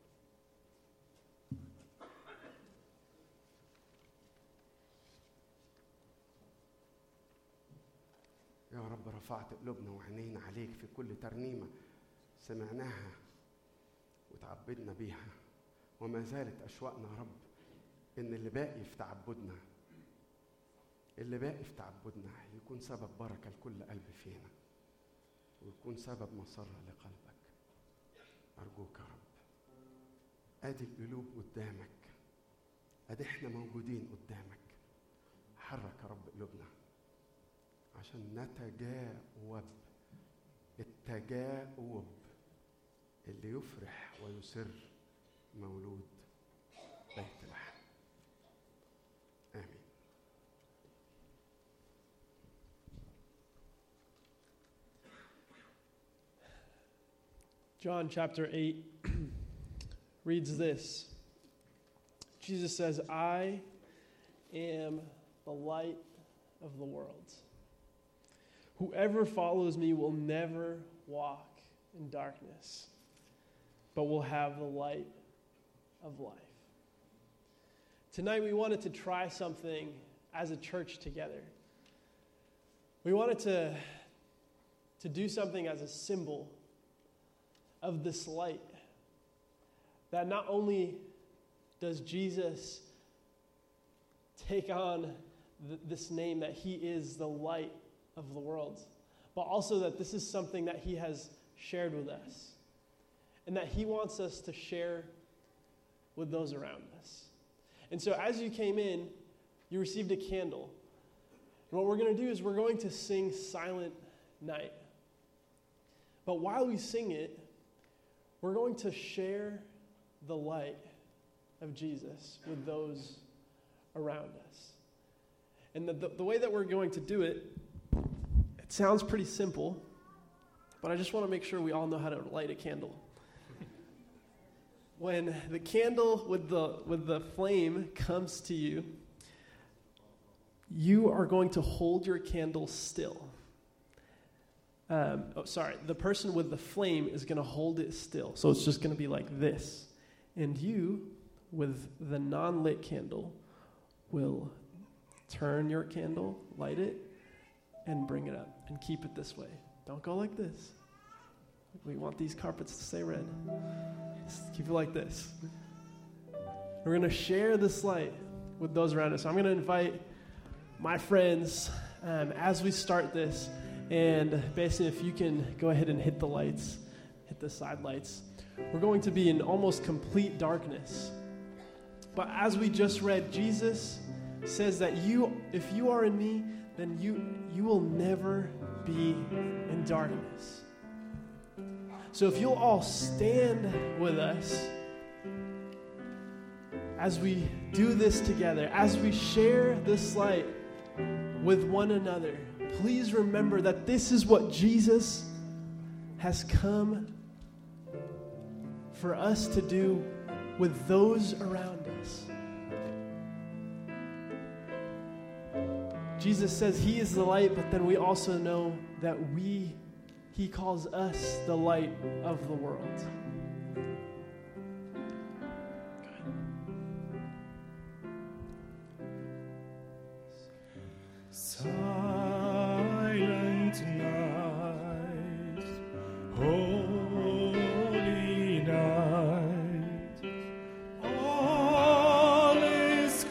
يا رب رفعت قلوبنا وعينينا عليك في كل ترنيمة سمعناها وتعبدنا بيها، وما زالت أشواقنا يا رب إن اللي باقي في تعبدنا اللي باقي في تعبدنا يكون سبب بركة لكل قلب فينا، ويكون سبب مسرة لقلبك. أرجوك يا رب، أدي القلوب قدامك، أدي إحنا موجودين قدامك، حرك يا رب قلوبنا عشان نتجاوب التجاوب اللي يفرح ويسر مولود بيت لحم. آمين. John chapter eight reads this. Jesus says, I am the light of the world. Whoever follows me will never walk in darkness, but will have the light of life. Tonight we wanted to try something as a church together. We wanted to, to do something as a symbol of this light, that not only does Jesus take on th- this name that he is the light of the world, but also that this is something that he has shared with us and that he wants us to share with those around us. And so as you came in, you received a candle. And what we're going to do is we're going to sing Silent Night. But while we sing it, we're going to share the light of Jesus with those around us. And the, the, the way that we're going to do it, it sounds pretty simple, but I just want to make sure we all know how to light a candle. When the candle with the with the flame comes to you, you are going to hold your candle still. Um, oh, sorry, the person with the flame is going to hold it still. So it's just going to be like this. And you, with the non-lit candle, will turn your candle, light it, and bring it up. And keep it this way. Don't go like this. We want these carpets to stay red. Just keep it like this. We're going to share this light with those around us. So I'm going to invite my friends, um, as we start this, and basically if you can go ahead and hit the lights, hit the side lights, we're going to be in almost complete darkness. But as we just read, Jesus says that you, if you are in me, then you you will never be in darkness. So if you'll all stand with us as we do this together, as we share this light with one another, please remember that this is what Jesus has come for us to do with those around us. Jesus says he is the light, but then we also know that we, he calls us the light of the world. Silent night, holy night, all is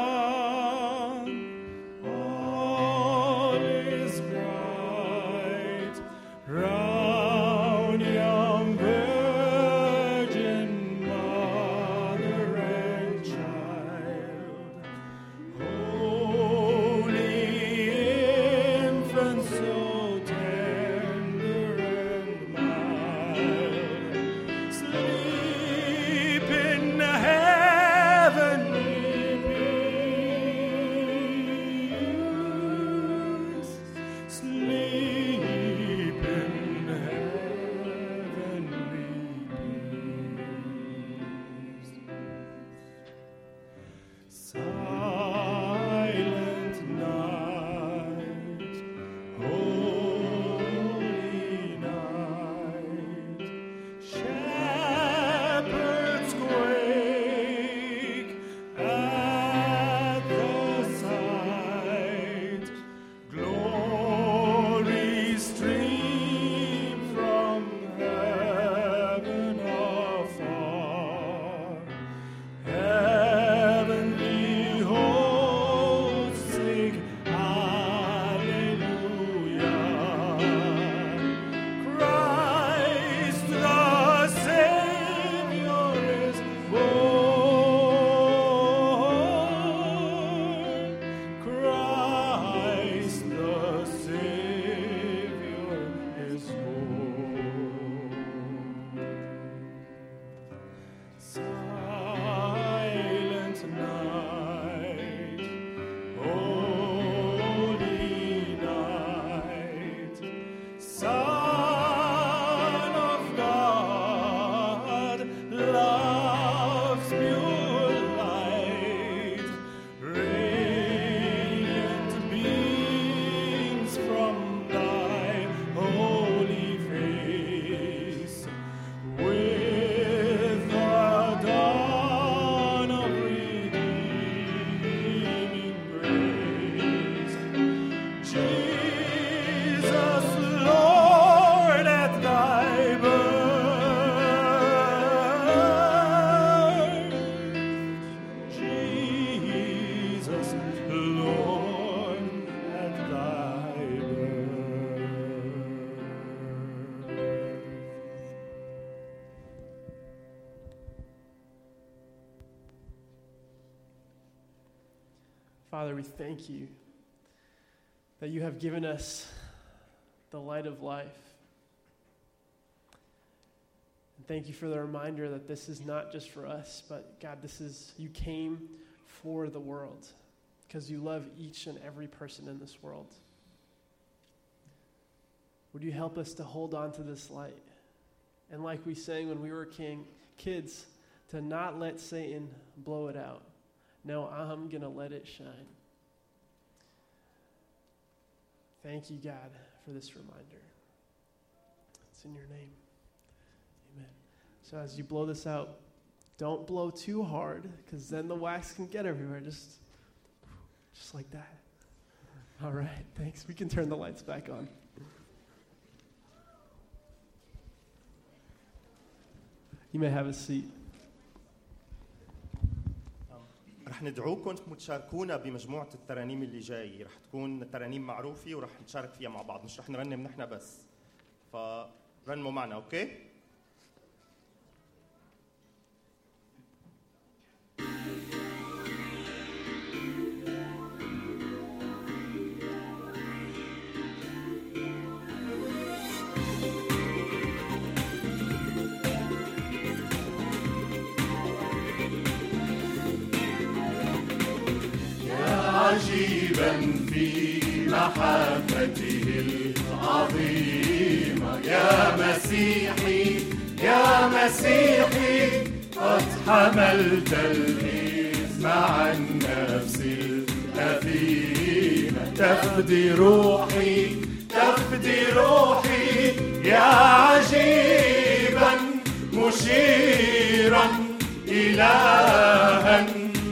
calm, all is bright, round young virgin mother and child. Holy infant, so tender and mild, sleep in heavenly peace, sleep in heavenly peace. Silent night, holy night, shepherds quake at the sight, glory stream from heaven afar. Heavenly hosts sing Alleluia. Christ the Savior is born. Christ the Savior is born. Silent night, holy night, Son of God, love's pure light, radiant beams from thy holy face, with the dawn of redeeming grace. Jesus, Lord, at thy birth. Jesus, Lord, at thy birth. Father, we thank you that you have given us the light of life. And thank you for the reminder that this is not just for us, but God, this is, you came for the world because you love each and every person in this world. Would you help us to hold on to this light? And like we sang when we were king, kids, to not let Satan blow it out. No, I'm going to let it shine. Thank you, God, for this reminder. It's in your name. Amen. So as you blow this out, don't blow too hard, because then the wax can get everywhere. Just, just like that. All right, thanks. We can turn the lights back on. You may have a seat. Um, رح ندعوكم تشاركونا بمجموعة الترانيم اللي جاي. رح تكون ترانيم معروفة ورح نشارك فيها مع بعض، مش رح نرنم نحن بس. فرنموا معنا. أوكي؟ عجيبا في محبته العظيمة يا مسيحي يا مسيحي قد حملت الإثم عن نفسي الأثيمة تفدي روحي تفدي روحي يا عجيبا مشيرا إلها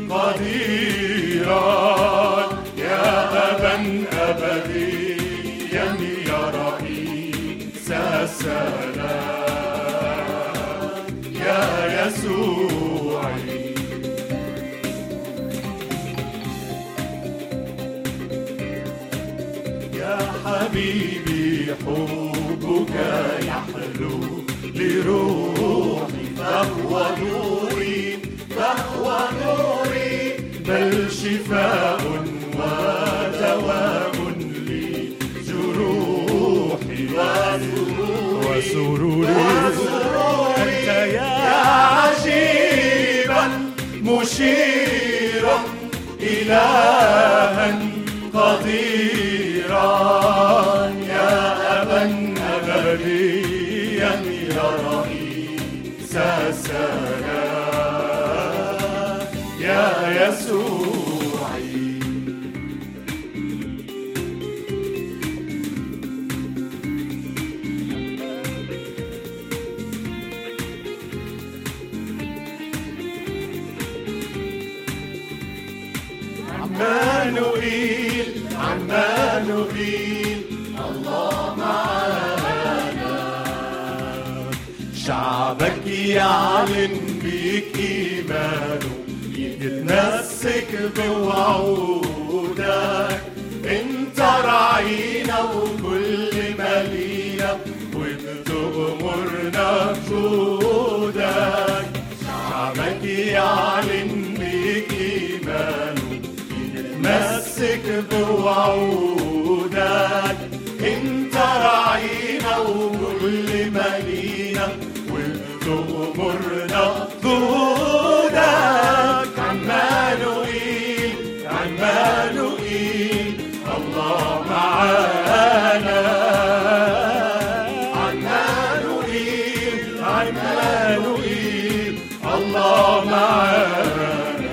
قديرا يا أبا أبديا يا رئيس السلام يا يسوعي يا حبيبي حبك يحلو لروحي فهو نوري فهو نوري بل شفاء ودواء لجروحي وسروري أنت يا عجيبا مشيرا إلها قديرا يا أبا أبديا يا رئيس السلام يا يسوعي عمانوئيل عمانوئيل الله معنا شعبك يعلن بك إيمانه يتمسك بوعودك انت راعينا وكل مالينا وبتغمرنا بجودك شعبك يعلن بك إيمانه يتمسك بوعودك انت راعينا وكل مالينا وبتغمرنا بجودك عمانوئيل عمانوئيل الله معانا عمانوئيل عمانوئيل الله معانا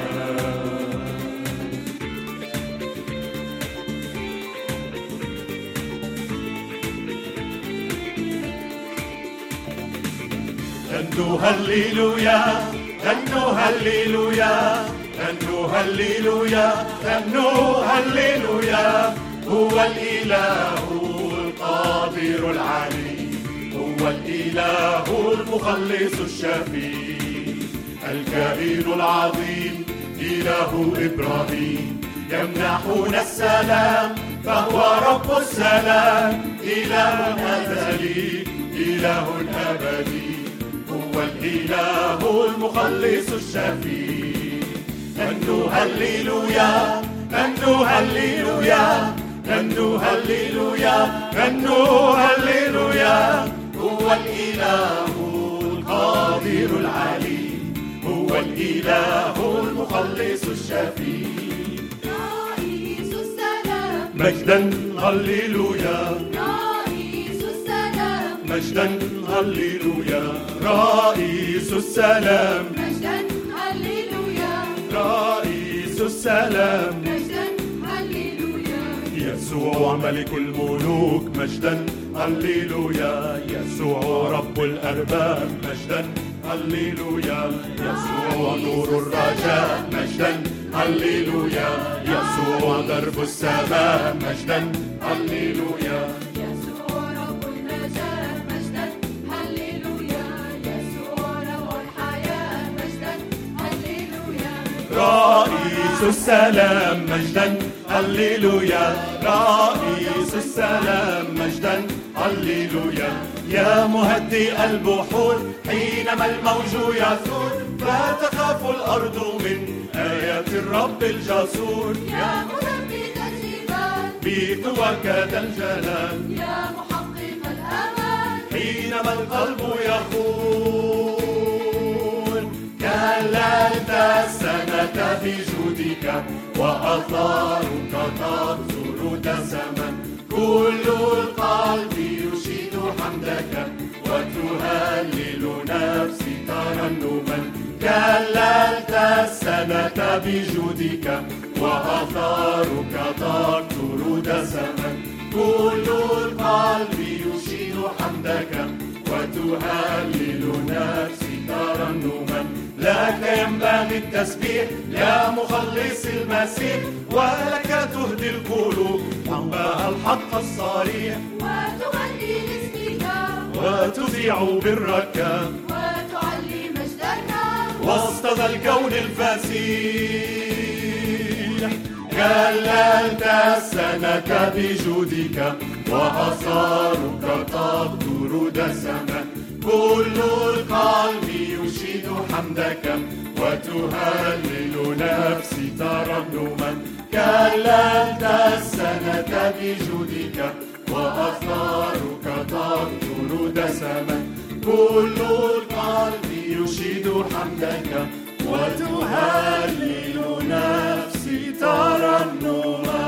غنوا هللويا غنوا هللويا غنوا هللويا غنوا هللويا هو الإله القادر العلي هو الإله المخلص الشفيع الكائن العظيم إله إبراهيم يمنحنا السلام فهو رب السلام إله أزلي إله أبدي هو الإله المخلص الشفيع غنوا هللويا غنوا هللويا غنوا هللويا غنوا هللويا هو الإله القادر العلي هو الإله المخلص الشفيع رئيس السلام مجدا هللويا رئيس السلام مجدا هللويا رئيس السلام مجدا هللويا رئيس السلام مجدا هللويا يسوع ملك الملوك مجدا هللويا يسوع رب الأرباب مجدا هللويا يسوع نور الرجاء مجدا هللويا يسوع درب السماء مجدا هللويا يسوع رب النجاة مجدا هللويا يسوع روح الحياة مجدا هللويا رئيس رئيس السلام مجدا هللويا، رئيس السلام مجدا هللويا. يا مهدئ البحور حينما الموج يثور، لا تخاف الأرض من آيات الرب الجسور. يا مثبت الجبال بقوة ذا الجلال، يا محقق الآمال حينما القلب يخون. كللت السنة بجودك وأثارك تبصر دسما، كل القلب يشيد حمدك وتهلل نفسي ترنما. كللت السنة بجودك وأثارك تبصر دسما، كل القلب يشيد حمدك وتهلل نفسي ترنما. لك ينبغي التسبيح يا مخلص المسيح، ولك تهدي القلوب حبها الحق الصريح، وتغني لاسمك وتذيع برك وتعلي مجدك وسط ذا الكون الفسيح. كللت السنة بجودك وأثارك تقطر دسما، كل القلب يشيد حمدك وتهلل نفسي ترنما. كللت السنة بجودك وأثارك تقطر دسما، كل القلب يشيد حمدك وتهلل نفسي ترنما.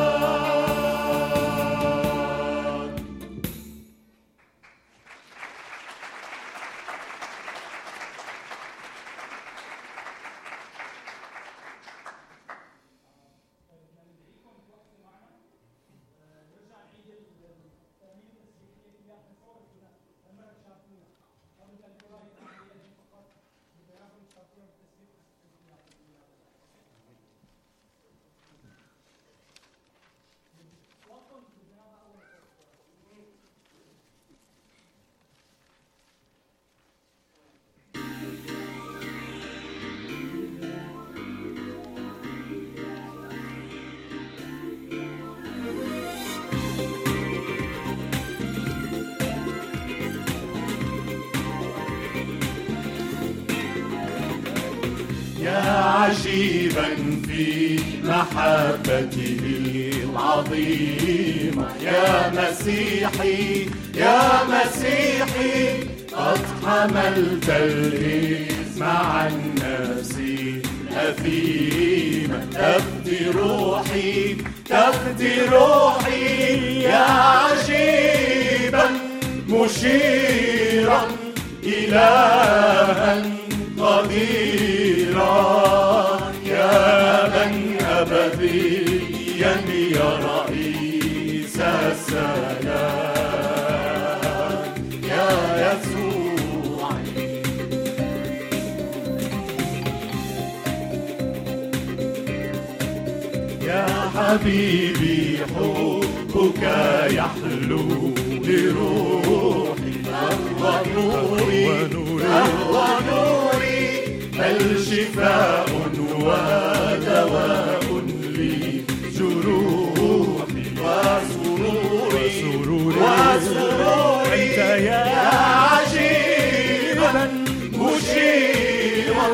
عجيبا في محبته العظيمة، يا مسيحي يا مسيحي قد حملت الإثم عن نفسي أثيما. تفدي روحي تفدي روحي يا عجيبا مشيرا إلها قديرا، يا من أبديا يا رئيس السلام يا يسوع. يا حبيبي حبك يحلو لروحي، فهو نوري فهو نوري، بل شفاء ودواء لجروحي وسروري وسروري. يا عجيبا مشيرا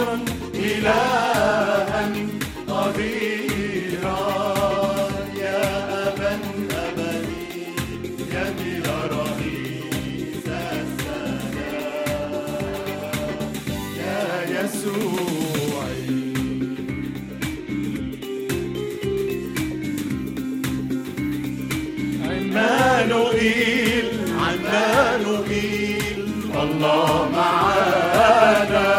إلها قديرا، يا أبا أبديا يا رئيس السلام يا يسوع. عمانوئيل عمانوئيل الله معانا،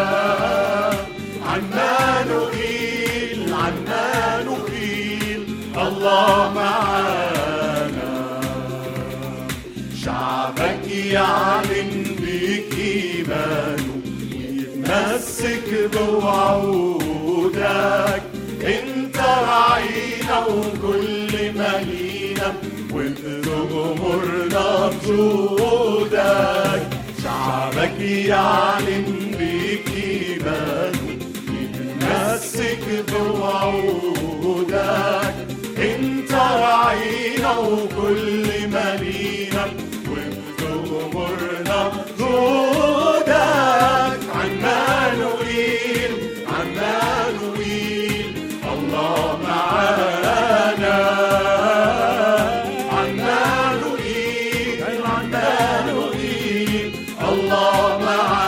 عمانوئيل عمانوئيل الله معانا. شعبك يعلن بك إيمانه ويتمسك بوعودك، انت راعينا وكل مالينا وبتغمرنا بجودك. شعبك يعلن بك إيمانه يتمسك وعودك، انت راعينا وكل مالينا وبتغمرنا جودك. عمانوئيل عمانوئيل الله معانا، عمانوئيل عمانوئيل الله معانا.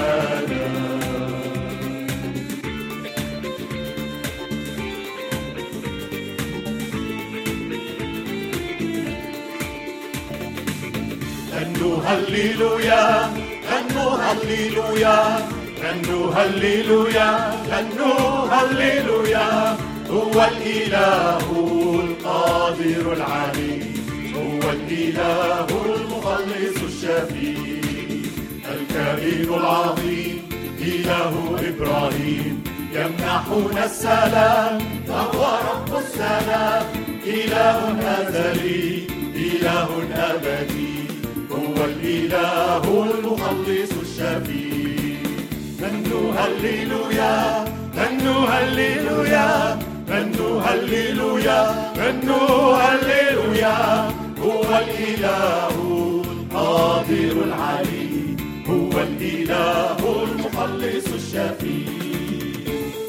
غنوا هللويا غنوا هللويا غنوا هللويا غنوا هللويا. هو الإله القادر العلي، هو الإله المخلص الشفيع، الكائن العظيم إله إبراهيم، يمنحنا السلام فهو رب السلام. إله أزلي إله أبدي، هو الإله المخلص الشفيع. غنوا هللويا غنوا هللويا غنوا هللويا غنوا هللويا. هو الإله القادر العلي، هو الإله المخلص الشفيع.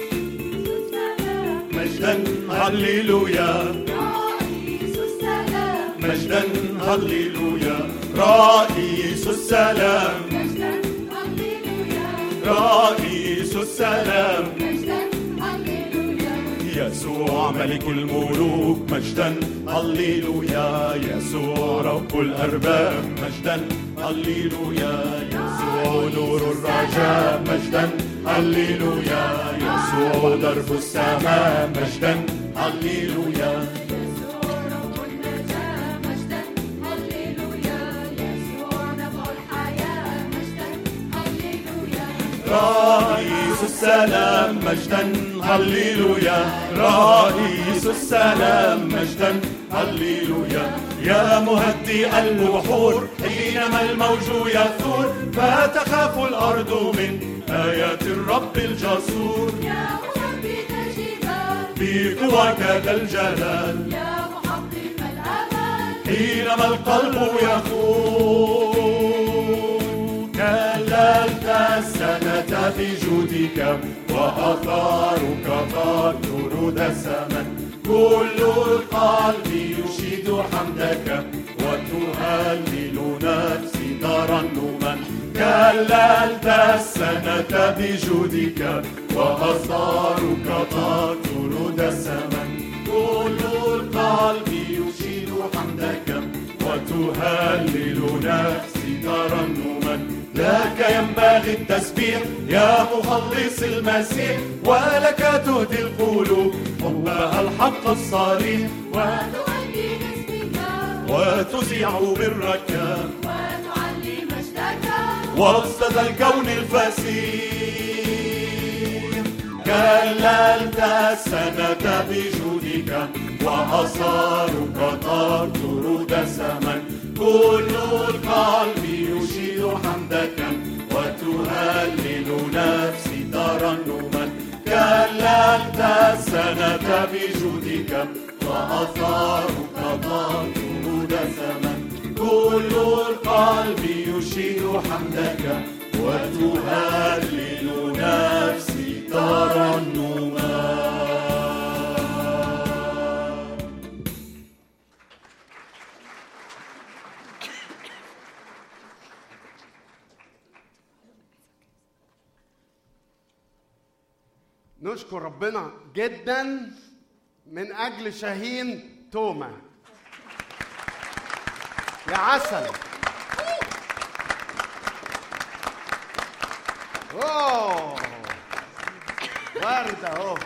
مجدا هللويا رئيس السلام، مجدا هللويا رئيس السلام، مجدا هللويا، رئيس السلام. مجدا هللويا، يسوع ملك الملوك مجدا هللويا، يسوع رب الأرباب مجدا هللويا، يسوع نور الرجاء مجدا هللويا، يسوع درب السماء مجدا هللويا. يسوع رب النجاة مجدا هللويا، يسوع نبع الحياة مجدا هللويا. رئيس السلام مجدا هللويا، رئيس السلام مجدا هللويا. يا مهدئ البحور حينما الموج يثور، فتخاف الأرض من آيات الرب الجسور. يا مثبت الجبال بقواك ذا الجلال، يا محقق الآمال، حينما القلب يخور. كللت السنة بجودك، وأثارك تطهر دسما. كل القلب يشيد حمدك، وتهلل نفسي ترنما. كللت السنة بجودك، وأثارك تطهر دسما. كل القلب يشيد حمدك، وتهلل نفسي ترنما. لك ينبغي التسبيح يا مخلص المسيح، ولك تهدي القلوب حبها الحق الصريح. وتغني باسمك وتذيع برك وتعلي مجدك وسط ذا الكون الفسيح. كللت السنة بجودك، وأثارك تطهر دسما. كل القلب يشيد حمدك، وتهلل نفسي ترنما. كللت السنة بجودك، وأثارك تطهر دسما. كل القلب يشيد حمدك، وتهلل نفسي ترنما. نشكر ربنا جدا من اجل شاهين توما. يا عسل. اوه ورده اهو.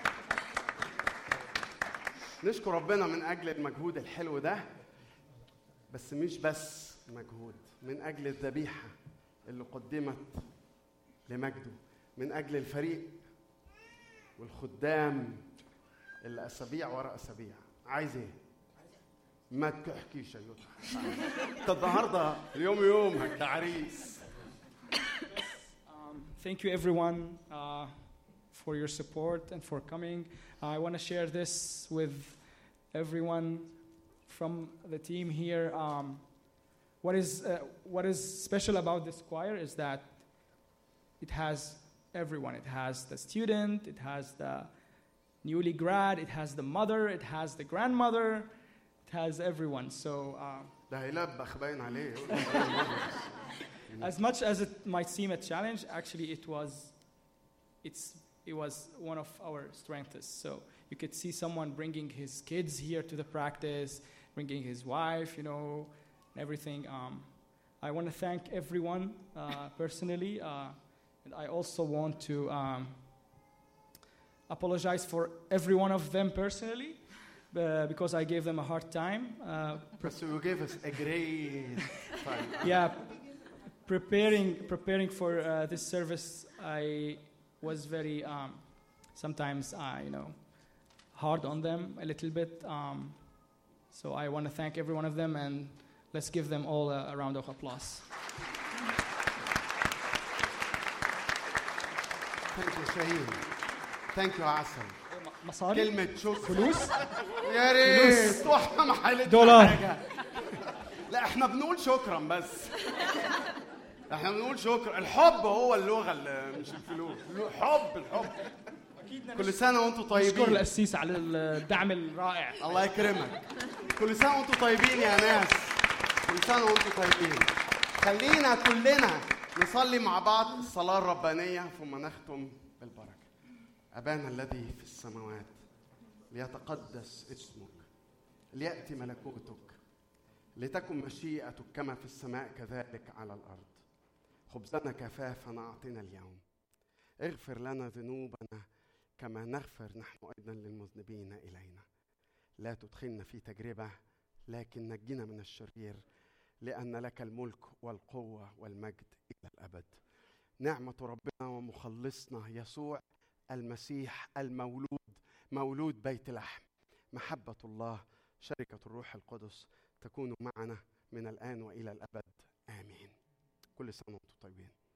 نشكر ربنا من اجل المجهود الحلو ده، بس مش بس مجهود، من اجل الذبيحه اللي قدمت لمجده، من اجل الفريق والخدام اللي اسابيع ورا اسابيع. عايز ايه؟ ما تحكيش يا يوتا. انت النهارده اليوم يومك يا عريس. Um, thank you everyone uh, for your support and for coming. I want to share this with everyone from the team here. Um, what is uh, what is special about this choir is that it has everyone. It has the student, it has the newly grad, it has the mother, it has the grandmother, it has everyone. So uh, ده هيلبخ باين عليه. as much as it might seem a challenge, actually it was it's it was one of our strengths. So you could see someone bringing his kids here to the practice, bringing his wife, you know, and everything. Um, I want to thank everyone uh, personally, uh, and I also want to um, apologize for every one of them personally, uh, because I gave them a hard time. Uh, So you gave us a great time. yeah, preparing preparing for uh, this service, I was very um, sometimes uh, you know hard on them a little bit. Um, so I want to thank every one of them, and let's give them all a, a round of applause. Thank you شاهين. Thank you عسل. مصاري؟ كلمة شكر. فلوس؟ يا ريت واحنا ما حلتنا دولار. حاجة. لا احنا بنقول شكرا بس. احنا بنقول شكرا. الحب هو اللغة اللي مش الفلوس. حب الحب. كل سنة وانتم نشكر طيبين. القسيس على الدعم الرائع. الله يكرمك. كل سنة وانتم طيبين يا ناس. كل سنة وانتم طيبين. خلينا كلنا نصلي مع بعض الصلاة الربانية ثم نختم بالبركة. أبانا الذي في السماوات ليتقدس اسمك ليأتي ملكوتك لتكن مشيئتك كما في السماء كذلك على الأرض. خبزنا كفافنا أعطنا اليوم. اغفر لنا ذنوبنا كما نغفر نحن أيضا للمذنبين إلينا. لا تدخلنا في تجربة لكن نجنا من الشرير لأن لك الملك والقوة والمجد إلى الأبد. نعمة ربنا ومخلصنا يسوع المسيح المولود مولود بيت لحم، محبة الله، شركة الروح القدس تكون معنا من الآن وإلى الأبد. آمين. كل سنة وأنتم طيبين.